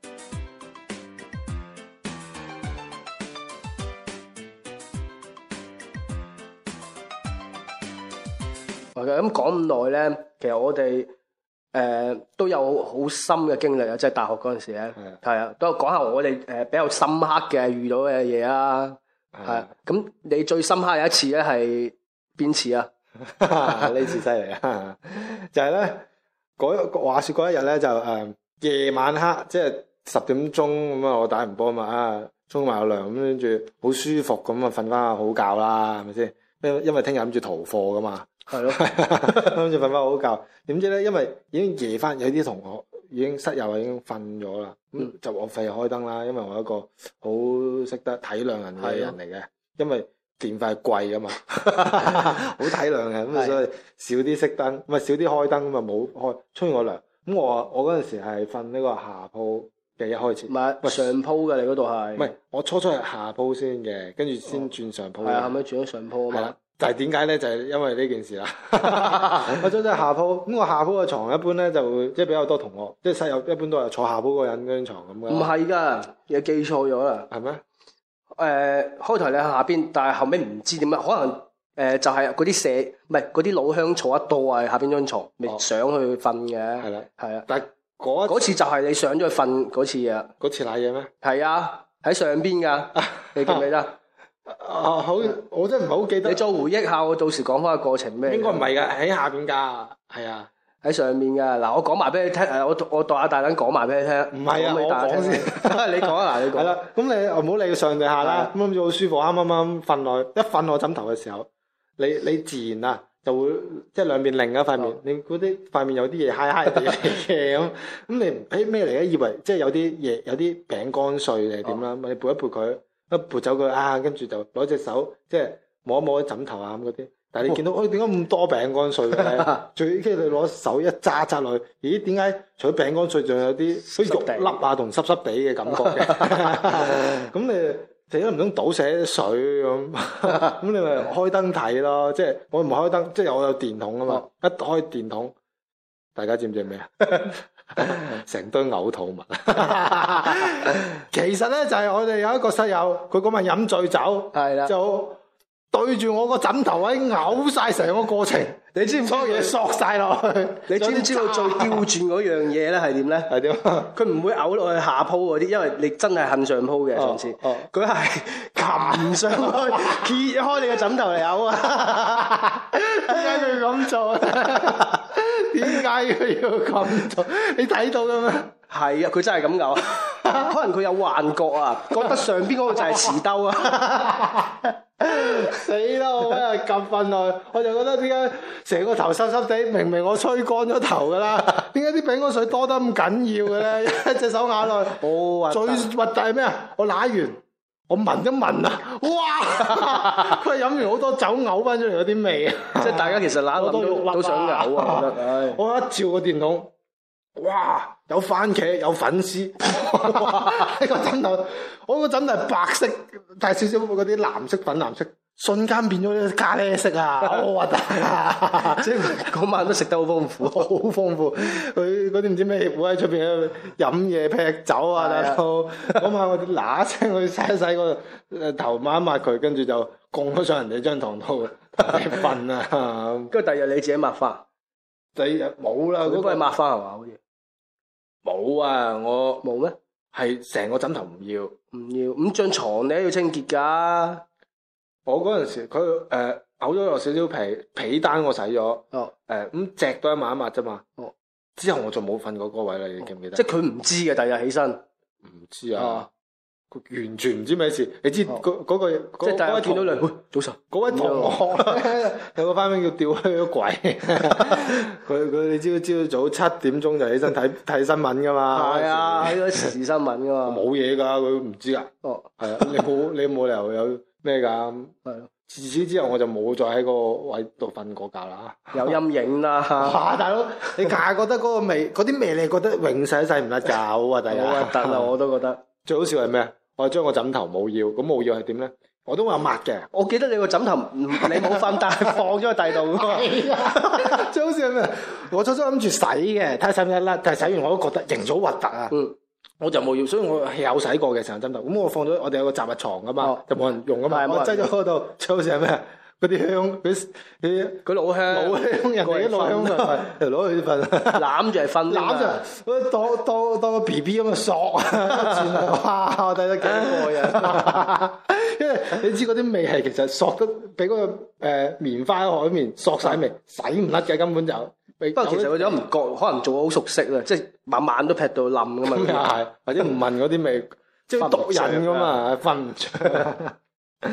咁講咁耐咧，其實我哋都有好深嘅經歷啊！即係大學嗰陣時咧，係啊，都講下我哋比較深刻嘅遇到嘅嘢啊。係啊，咁你最深刻有一次咧係邊次啊？ 呢次犀利啊！就係咧話説嗰一日咧就夜晚黑，即係10點鐘咁啊，我打完波啊嘛，沖埋個涼咁，跟住好舒服咁啊，瞓翻好覺啦，係咪先？因為聽日諗住逃課噶嘛。係咯，諗住瞓翻好覺，點知咧？因為已經夜翻，有啲同學已經室友已經瞓咗啦，咁就我費開燈啦。因為我係一個好識得體諒人嘅人嚟嘅，因為電費貴噶嘛，好體諒嘅，咁所以少啲熄燈，唔係少啲開燈咁啊，冇開，沖完個涼。咁我嗰陣時係瞓呢個下鋪嘅一開始， 唔係上鋪嘅，你嗰度係？ 唔係，我初係下鋪先嘅，跟住先轉上鋪。 係啊，後尾轉咗上鋪啊嘛。 但係點解咧？就係因為呢件事啦。我初係下鋪，咁我下鋪嘅床一般咧就會即係比較多同學，即係室友一般都係坐下鋪嗰個人嗰張床咁嘅。 唔係㗎，你記錯咗啦。 係咩？ 開頭你喺下邊，但係後尾唔知點解，可能就係嗰啲唔係嗰啲老鄉坐得多啊，下邊張床咪上去瞓嘅。係啦，係啊。但係嗰次就係你上咗去瞓嗰次啊。嗰次瀨嘢咩？係啊，喺上邊㗎，你記唔記得？好，我真係唔係好記得。你再回憶下，我到時講翻個過程咩？應該唔係㗎，喺下邊㗎，係啊，喺上面㗎。嗱，我講埋俾你聽，我代下大躉講埋俾你聽。唔係啊，我講先。你講啊，嗱，你講。係啦，咁你唔好理上定下啦。咁諗住好舒服，啱瞓落，一瞓落枕頭嘅時候，你自然啊就會即係兩邊另一塊面，你嗰啲塊面有啲嘢嗨地嚟嘅咁你咩嚟嘅？以為即係有啲嘢，有啲餅乾碎定係點啦？你撥一撥佢。一撥走佢啊，跟住就攞隻手即係摸一摸枕頭啊咁嗰啲。但係你見到，點解咁多餅乾碎嘅咧？最跟住你攞手一揸落去，咦？點解除咗餅乾碎，仲有啲肉粒啊同濕濕地嘅感覺嘅？咁你死都唔通倒瀉水咁？咁你咪開燈睇咯。即係我唔開燈，即係我有電筒啊嘛。一開電筒，大家知唔知係咩啊？成堆嘔吐物，其實咧就係我哋有一個室友，佢嗰晚飲醉酒，係啦，就對住我個枕頭位嘔晒成個過程，你知唔知所有嘢索晒落去？你知唔知道最刁鑽嗰樣嘢咧係點咧？係點？佢唔會嘔落去下鋪嗰啲，因為你真係恨上鋪嘅上次，佢係擒上去揭開你個枕頭嚟嘔啊！點解佢咁做啊？點解佢要咁做？你睇到嘅咩？係啊，佢真係咁嘔，可能佢有幻覺啊，覺得上邊嗰個就係瓷兜啊！死啦！我喺度咁瞓落去，我就覺得點解成個頭濕濕地？明明我吹乾咗頭噶啦，點解啲餅乾水多得咁緊要嘅咧？一隻手咬落去，最核突係咩啊？我舐完，我聞一聞啊！哇！佢飲完好多酒嘔翻出嚟嗰啲味啊！即係大家其實揦落都想嘔啊！我覺得，我一照個電筒，哇！有番茄，有粉絲，哇！呢個枕頭，我個枕頭係白色，帶少少嗰啲藍色、粉藍色，瞬間變咗咖喱色啊！好核突啊！即係嗰晚都食得好豐富，好豐富。佢嗰啲唔知咩協會喺出邊飲嘢劈酒啊！大佬，嗰晚我哋嗱聲去洗一洗個頭抹一抹佢，跟住就供咗上人哋張床度瞓啊！跟住第二日你自己抹花，第二日冇啦，嗰個係抹花係嘛？好似。冇啊！我冇咩？係成個枕頭唔要，咁張床你都要清潔噶。我嗰陣時佢嘔咗落少少被單，我洗咗。咁隻都一抹一抹啫嘛。之後我就冇瞓過嗰位啦，你記唔記得？即係佢唔知嘅，第二日起身唔知啊。 完全唔知咩事。你知嗰個即係大家見到你，早晨嗰位同學咧，有個花名叫吊靴鬼，佢你朝早7點鐘就起身睇新聞噶嘛。 係啊，睇嗰時事新聞噶嘛。 冇嘢㗎，佢唔知㗎。哦，係啊，你冇理由有咩㗎？係咯。自此之後我就冇再喺個位度瞓過覺啦。 有陰影啦。 哇，大佬，你硬係覺得嗰個味，嗰啲味你覺得永世都洗唔甩㗎，好核突啊！ 好核突啊，我都覺得。最好笑係咩？我將個枕頭冇要，咁冇要係點咧？我都話抹嘅。 我記得你個枕頭你冇瞓，但係放咗喺第度㗎嘛。 最好笑係咩？我初初諗住洗嘅，睇下洗唔洗甩，但係洗完我都覺得型咗核突啊。我就冇要，所以我係有洗過嘅成個枕頭。咁我放咗，我哋有個雜物床㗎嘛，就冇人用㗎嘛。我擠咗嗰度，最好笑係咩？嗰啲香，嗰老香，人哋啲老香就攞去瞓， 攬住嚟瞓， 攬住，當個 BB 咁啊索啊，哇！我睇得幾過癮，因為你知嗰啲味係其實索得比嗰個棉花喺海綿索晒味，洗唔甩嘅根本就。 不過其實佢都唔覺，可能做得好熟悉啦，即係晚晚都劈到冧噶嘛。 咁又係，或者唔聞嗰啲味，即係毒癮噶嘛，瞓唔着。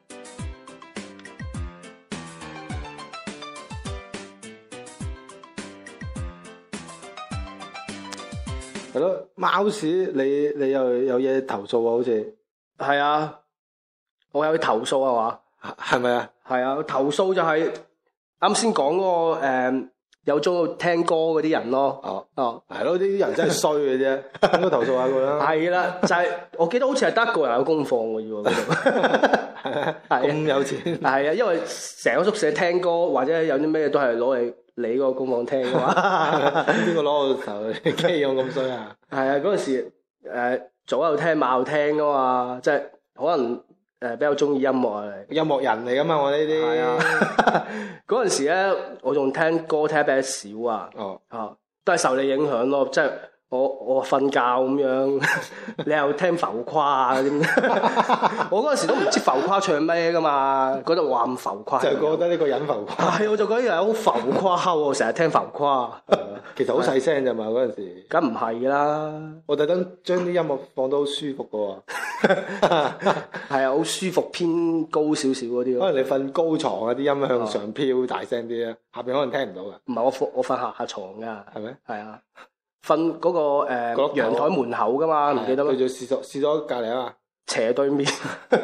係咯，貓屎你又有嘢投訴啊？好似係啊，我有去投訴啊嘛， 係咪啊？ 係啊，投訴就係啱先講嗰個有中意聽歌嗰啲人咯。 係咯，呢啲人真係衰嘅啫，應該投訴下佢啦。 係啦，就係我記得好似係得一個人有功課嘅啫喎，嗰度咁有錢。 係啊，因為成個宿舍聽歌或者有啲咩都係攞嚟你嗰個功課聽嘅嘛。 邊個攞個頭機用咁衰啊？ 係啊，嗰陣時早喺度聽晚喺度聽噶嘛，即係可能比較中意音樂啊。 音樂人嚟噶嘛，我呢啲。係啊， 嗰陣時咧，我仲聽歌聽得比較少啊。都係受你影響咯，即係我瞓覺咁樣，你又聽浮誇啊啲。我嗰陣時都唔知浮誇唱咩噶嘛，覺得話咁浮誇。 就覺得呢個人浮誇。 係，我就覺得人好浮誇喎，成日聽浮誇。 其實好細聲咋嘛嗰陣時。梗唔係啦，我特登將啲音樂放到好舒服噶喎。 係啊，好舒服，偏高少少嗰啲咯。 可能你瞓高床啊，啲音向上飄大聲啲啊，下邊可能聽唔到噶。 唔係，我瞓下床噶。係咩？係啊。瞓嗰個陽台門口噶嘛，唔記得咩？對住廁所隔離啊嘛，斜對面。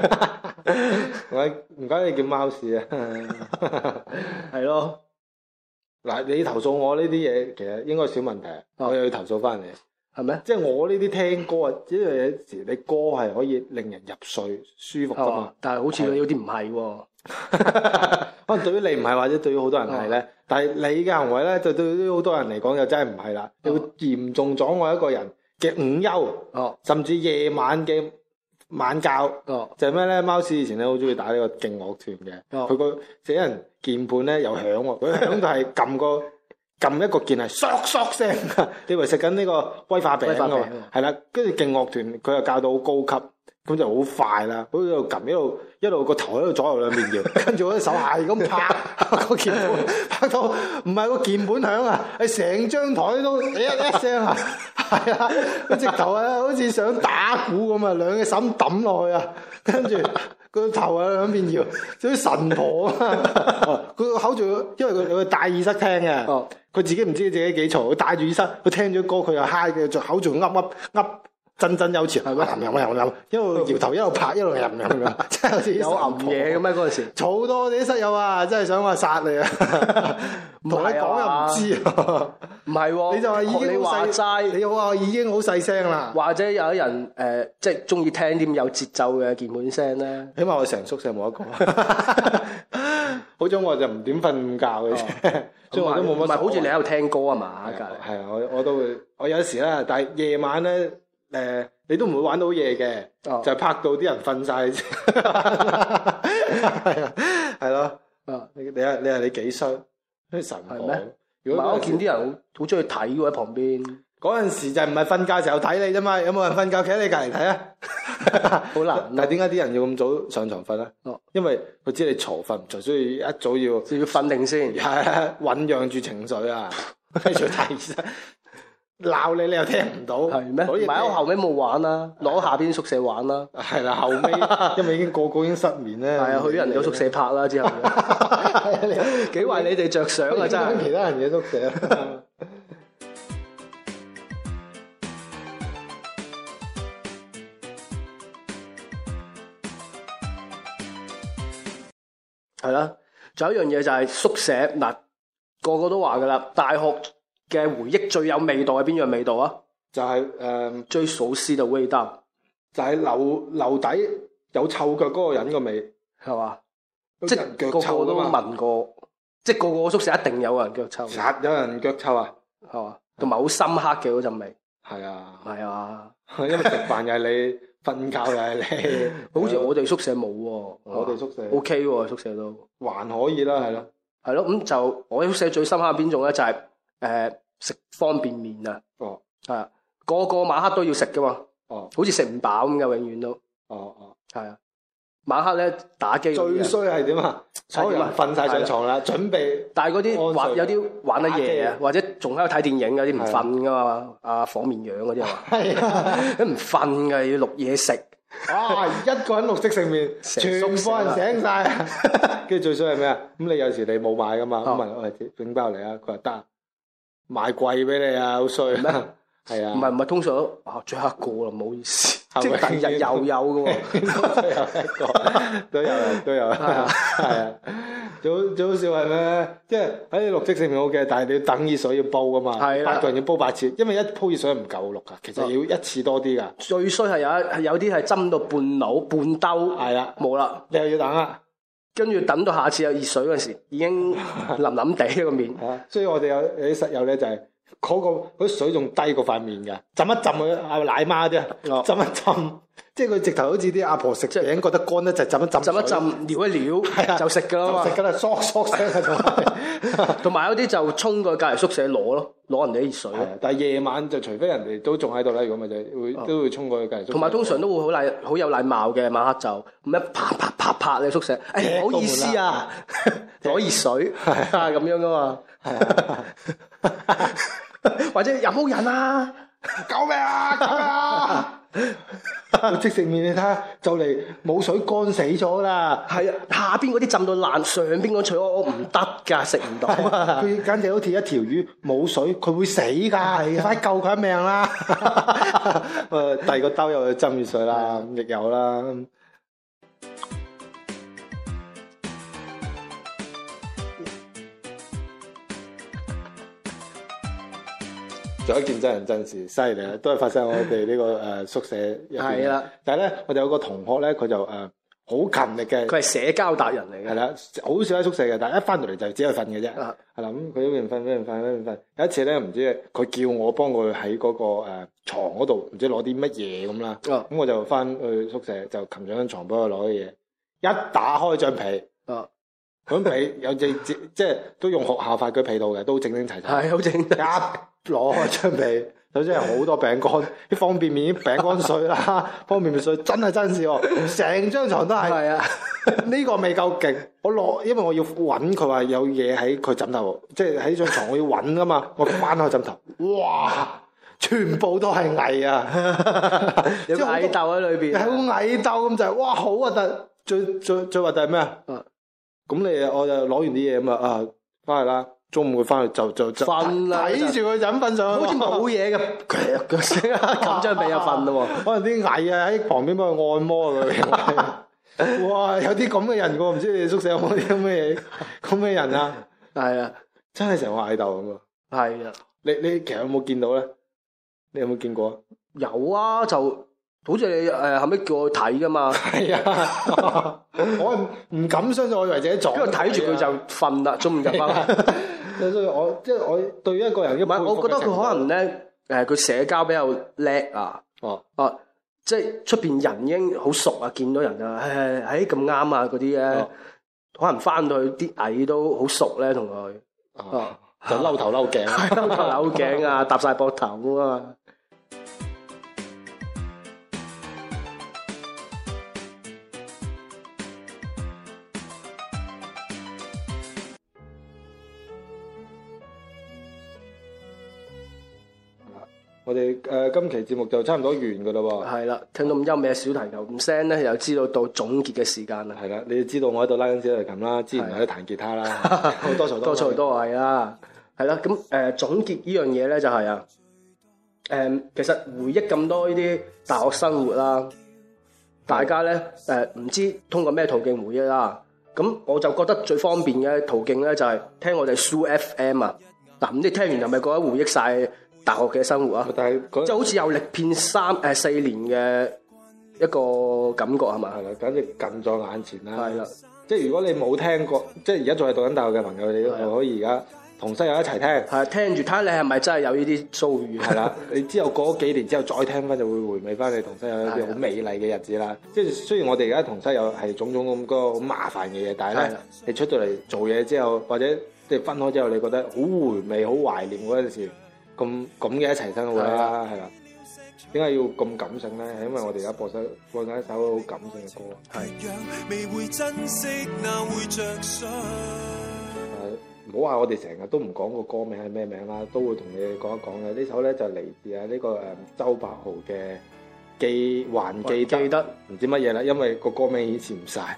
唔該你叫貓屎啊！係咯。嗱，你投訴我呢啲嘢，其實應該少問題。我又要投訴翻你，係咩？即係我呢啲聽歌啊，因為有時你歌係可以令人入睡舒服噶嘛。但係好似有啲唔係喎。可能對於你唔係，或者對於好多人係咧。但係你嘅行為咧，就對於好多人嚟講就真係唔係啦。你會嚴重阻礙一個人嘅午休，甚至夜晚嘅晚覺。就係咩咧？貓屎以前咧好中意打呢個勁樂團嘅，佢個死人鍵盤咧又響喎，佢響就係撳一個鍵係嗦嗦聲，你以為食緊呢個威化餅㗎嘛？係啦，跟住勁樂團佢又教到好高級。咁就好快啦，好似喺度撳一路個頭喺度左右兩邊搖，跟住我隻手係咁拍個鍵盤，拍到唔係個鍵盤響啊，係成張台都一聲啊，係啊，佢直頭啊好似想打鼓咁啊，兩隻手抌落去啊，跟住個頭啊兩邊搖，好似神婆啊，佢個口仲因為佢戴耳塞聽嘅，佢自己唔知自己幾嘈，佢戴住耳塞，佢聽咗歌佢又嗨嘅，就口仲噏。振振有詞係咪？一路搖頭一路拍一路吟咁樣，真係好似有吟嘢咁咩？嗰陣時嘈多我哋啲室友啊，真係想話殺你啊！同你講又唔知啊，唔係喎，你就話已經好細，你話已經好細聲啦。或者有啲人即係中意聽啲有節奏嘅鍵盤聲咧，起碼我成宿舍冇一個。好彩我就唔點瞓午覺嘅啫，所以我都冇乜。唔係好似你喺度聽歌啊嘛？係啊，我都會，我有時啦，但係夜晚咧。你都唔會玩到夜嘅，就係拍到啲人瞓晒先，係啊，係咯，你話你幾衰，啲神婆。如果我見啲人好中意睇喎喺旁邊，嗰陣時就唔係瞓覺時候睇你啫嘛，有冇人瞓覺企喺你隔離睇啊？好難。但係點解啲人要咁早上床瞓啊？因為佢知你嘈瞓唔着，所以一早要瞓定先，係醖釀住情緒啊，跟住睇醫生。 鬧你又聽唔到， 係咩？ 所以唔係我後尾冇玩啦，攞下邊宿舍玩啦。 係啦，後尾因為已經個個已經失眠咧。 係啊，去人哋宿舍拍啦之後。幾為你哋着想啊！真係。 其他人嘅宿舍。 係啦，仲有一樣嘢就係宿舍嗱，個個都話噶啦，大學嘅回憶最有味道係邊樣味道啊？ 就係最熟悉嘅味道， 就係樓底有臭腳嗰個人個味， 係嘛？即係個個腳臭都啊嘛， 聞過，即係個個宿舍一定有人腳臭， 實有人腳臭啊， 係嘛？同埋好深刻嘅嗰陣味， 係啊， 係啊， 因為食飯又係你，瞓覺又係你， 好似我哋宿舍冇喎， 我哋宿舍 OK 喎，宿舍都還可以啦，係咯， 係咯，咁就我宿舍最深刻係邊種咧？就係食方便麵啊， 哦， 係啊，個個晚黑都要食噶嘛， 哦， 好似食唔飽咁嘅，永遠都哦， 係啊。晚黑咧打機嗰啲人， 最衰係點啊？所有人瞓晒上床啦，準備， 但係嗰啲玩有啲玩得夜啊， 打機或者仲喺度睇電影嗰啲唔瞓噶嘛，阿火綿羊嗰啲啊， 係啊， 都唔瞓㗎，要錄嘢食。 哇！一個人綠色食麵，全部人醒晒啊！跟住最衰係咩啊？咁你有時你冇買噶嘛？咁問我哋整包嚟啊，佢話得，買貴俾你啊，好衰咩？係啊， 唔係，通常都最後一個啦，唔好意思， 係咪即係第二日又有嘅喎， 最後一個都有，係啊。最好笑係咩？即係喺你綠色食麵 OK，但係你要等熱水要煲噶嘛， 係啦 8個人要煲8次，因為一煲熱水唔夠綠噶，其實要一次多啲噶。 最衰係有啲係斟到半爐半兜， 係啦， 冇啦， 你又要等啦。 跟住等到下次有熱水嗰陣時，已經腍腍地個面。 所以我哋有啲室友咧就係嗰啲水仲低過塊面㗎，浸一浸佢阿奶媽啲啊，浸一浸，即係佢直頭好似啲阿婆食餅覺得乾咧，就浸一浸， 浸一浸，撩一撩， 係啊， 就食㗎啦嘛。 食㗎啦，嗦嗦聲喺度。 同埋有啲就衝過去隔離宿舍攞咯，攞人哋啲熱水。 但係夜晚就除非人哋都仲喺度啦，如果咪就都會衝過去隔離宿舍。 同埋通常都會好有禮貌嘅，晚黑就咁一啪你宿舍，誒唔好意思啊，攞熱水啊咁樣噶嘛。或者有冇人啊？ 救命啊！救命啊！即食麵你睇下，就嚟冇水乾死咗啦。 係啊，下邊嗰啲浸到爛，上邊嗰除我唔得㗎，食唔到啊！ 佢簡直好似一條魚冇水，佢會死㗎，快救佢一命啦！第二個兜又去浸熱水啦，亦有啦。仲有一件真人真事，犀利啊！都係發生喺我哋呢個宿舍入邊。係啦，但係咧，我哋有個同學咧，佢就好勤力嘅。 佢係社交達人嚟嘅。係啦， 好少喺宿舍嘅，但係一翻到嚟就只係瞓嘅啫。係啦，咁佢一邊瞓。有一次咧，唔知佢叫我幫佢喺嗰個牀嗰度，唔知攞啲乜嘢咁啦。咁我就翻去宿舍就擒上張床幫佢攞啲嘢，一打開張被。咁被有隻即係都用學校發嘅被套嘅，都整整齊齊。係好整。一攞開張被，首先係好多餅乾，啲方便麵、啲餅乾碎啦，方便麵碎真係真事喎，成張床都係。係啊，呢個未夠勁，因為我要揾佢話有嘢喺佢枕頭，即係喺張床我要揾噶嘛，我翻開枕頭，哇！全部都係蟻啊，有個蟻竇喺裏邊，係好蟻竇咁就係，哇！好核突，最核突係咩啊？咁我就攞完啲嘢咁啊，翻去啦。中午佢翻去就瞓啦，睇住佢枕瞓上去，好似冇嘢嘅，腳聲咁張被就瞓咯喎。可能啲蟻啊喺旁邊幫佢按摩佢。哇！有啲咁嘅人喎，唔知你哋宿舍有冇啲咁嘅人啊？係啊，真係成個蟻竇咁啊！係啊，你其實有冇見到咧？你有冇見過？有啊，就。好似你後尾叫我睇噶嘛？係啊，我唔敢相信，我以為自己撞。因為睇住佢就瞓啦，中午就瞓。所以我對於一個人，唔係，我覺得佢可能咧，佢社交比較叻啊。即係出邊人已經好熟啊，見到人啊，咁啱啊嗰啲咧，可能翻到去啲蟻都好熟咧，同佢。就嬲頭嬲頸，嬲頭嬲頸啊，搭晒膊頭啊嘛。 我哋今期節目就差唔多完㗎啦喎。 係啦，聽到咁優美嘅小提琴聲咧，又知道到總結嘅時間啦。 係啦，你知道我喺度拉緊小提琴啦，之前喺度彈吉他啦，好多才多才多藝啦。係啦，咁總結呢樣嘢咧就係啊，其實回憶咁多呢啲大學生活啦，大家咧唔知通過咩途徑回憶啦。咁我就覺得最方便嘅途徑咧就係聽我哋 Soo FM 啊。嗱，咁你聽完係咪覺得回憶晒大學嘅生活啊？ 但係即係好似有歷遍4年嘅一個感覺係嘛？ 係啦，簡直近在眼前啦。 係啦， 即係如果你冇聽過，即係而家仲係讀緊大學嘅朋友，你都可以而家同室友一齊聽。 係聽住睇下你係咪真係有呢啲遭遇？ 係啦，你之後過咗幾年之後再聽翻，就會回味翻你同室友一啲好美麗嘅日子啦。即係雖然我哋而家同室友係種種咁個好麻煩嘅嘢，但係咧，你出到嚟做嘢之後，或者即係分開之後，你覺得好回味、好懷念嗰陣時，咁嘅一齊生活啦，係啦。點解要咁感性咧？係因為我哋而家播緊一首好感性嘅歌。唔好話我哋成日都唔講個歌名係咩名啦，都會同你哋講一講嘅。呢首咧就嚟自呢個周柏豪嘅還記得，唔知乜嘢啦，因為個歌名顯示唔晒。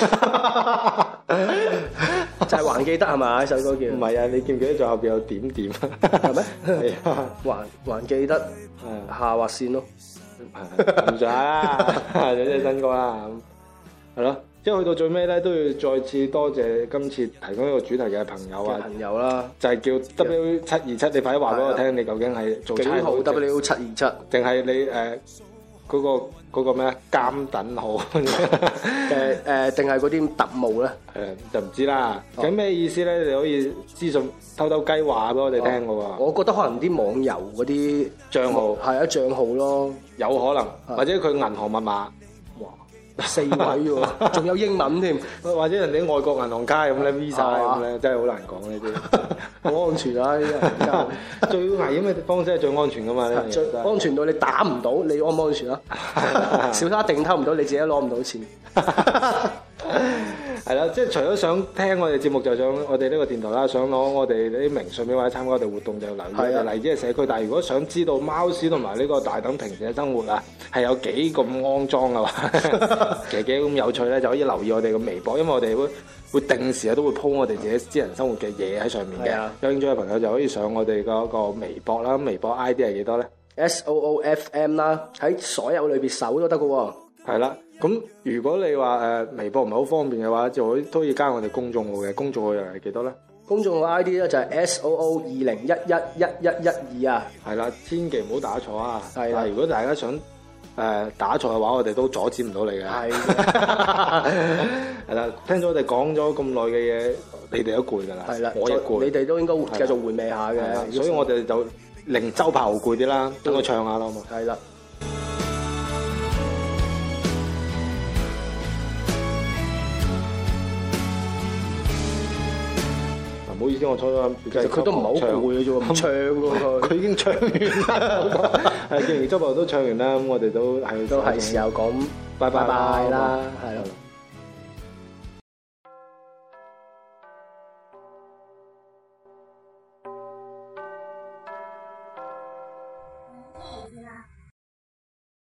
就係還記得係嘛？呢首歌叫？ 唔係啊，你記唔記得最後邊有點點啊？ 係咩？ 係啊， 還記得下劃線咯， 唔使啦，有隻新歌啦，係咯。即係去到最尾咧，都要再次多謝今次提供呢個主題嘅朋友啊， 朋友啦， 就係叫 W727，你快啲話俾我聽，你究竟係做警號 W727， 定係你嗰個咩啊監躉號定係嗰啲特務咧？ 就唔知啦。咁咩意思咧？你可以資訊偷雞話俾我哋聽嘅喎。 我覺得可能啲網遊嗰啲帳號係啊帳號咯， 有可能，或者佢銀行密碼。 4位喎，仲有英文添， 或者人哋外國銀行卡咁咧 Visa 咁咧，真係好難講呢啲， 好安全啊！呢啲最危險嘅方式係最安全噶嘛，呢最安全到你打唔到，你安唔安全啊？小偷一定偷唔到，你自己攞唔到錢。係啦，即係除咗想聽我哋節目，就想我哋呢個電台啦，想攞我哋啲明信片或者參加我哋活動就留意我哋荔枝嘅社區。但係如果想知道貓屎同埋呢個大等平時嘅生活啊，係有幾咁骯髒嘅話，其實幾咁有趣咧，就可以留意我哋嘅微博，因為我哋會定時都會 po 我哋自己私人生活嘅嘢喺上面嘅。有興趣嘅朋友就可以上我哋嗰個微博啦，微博 ID 係幾多咧 ？SOOFM 啦，喺所有裏邊搜都得嘅喎。 係啦。咁如果你話微博唔係好方便嘅話，就都要加我哋公眾號嘅，公眾號又係幾多咧？ 公眾號 ID 咧就係 SOO20111112啊。 係啦，千祈唔好打錯啊！ 係啦， 如果大家想打錯嘅話，我哋都阻止唔到你嘅。係係啦，聽咗我哋講咗咁耐嘅嘢，你哋都攰㗎啦。係啦，我亦攰。 你哋都應該繼續回味下嘅。 所以我哋就令周柏豪攰啲啦，等佢唱下啦，好嘛？ 係啦。 唔好意思，我初初其實佢都唔係好攰嘅啫喎，唔唱喎佢已經唱完啦。係，既然周柏豪都唱完啦，咁我哋都係時候講拜拜啦，係咯。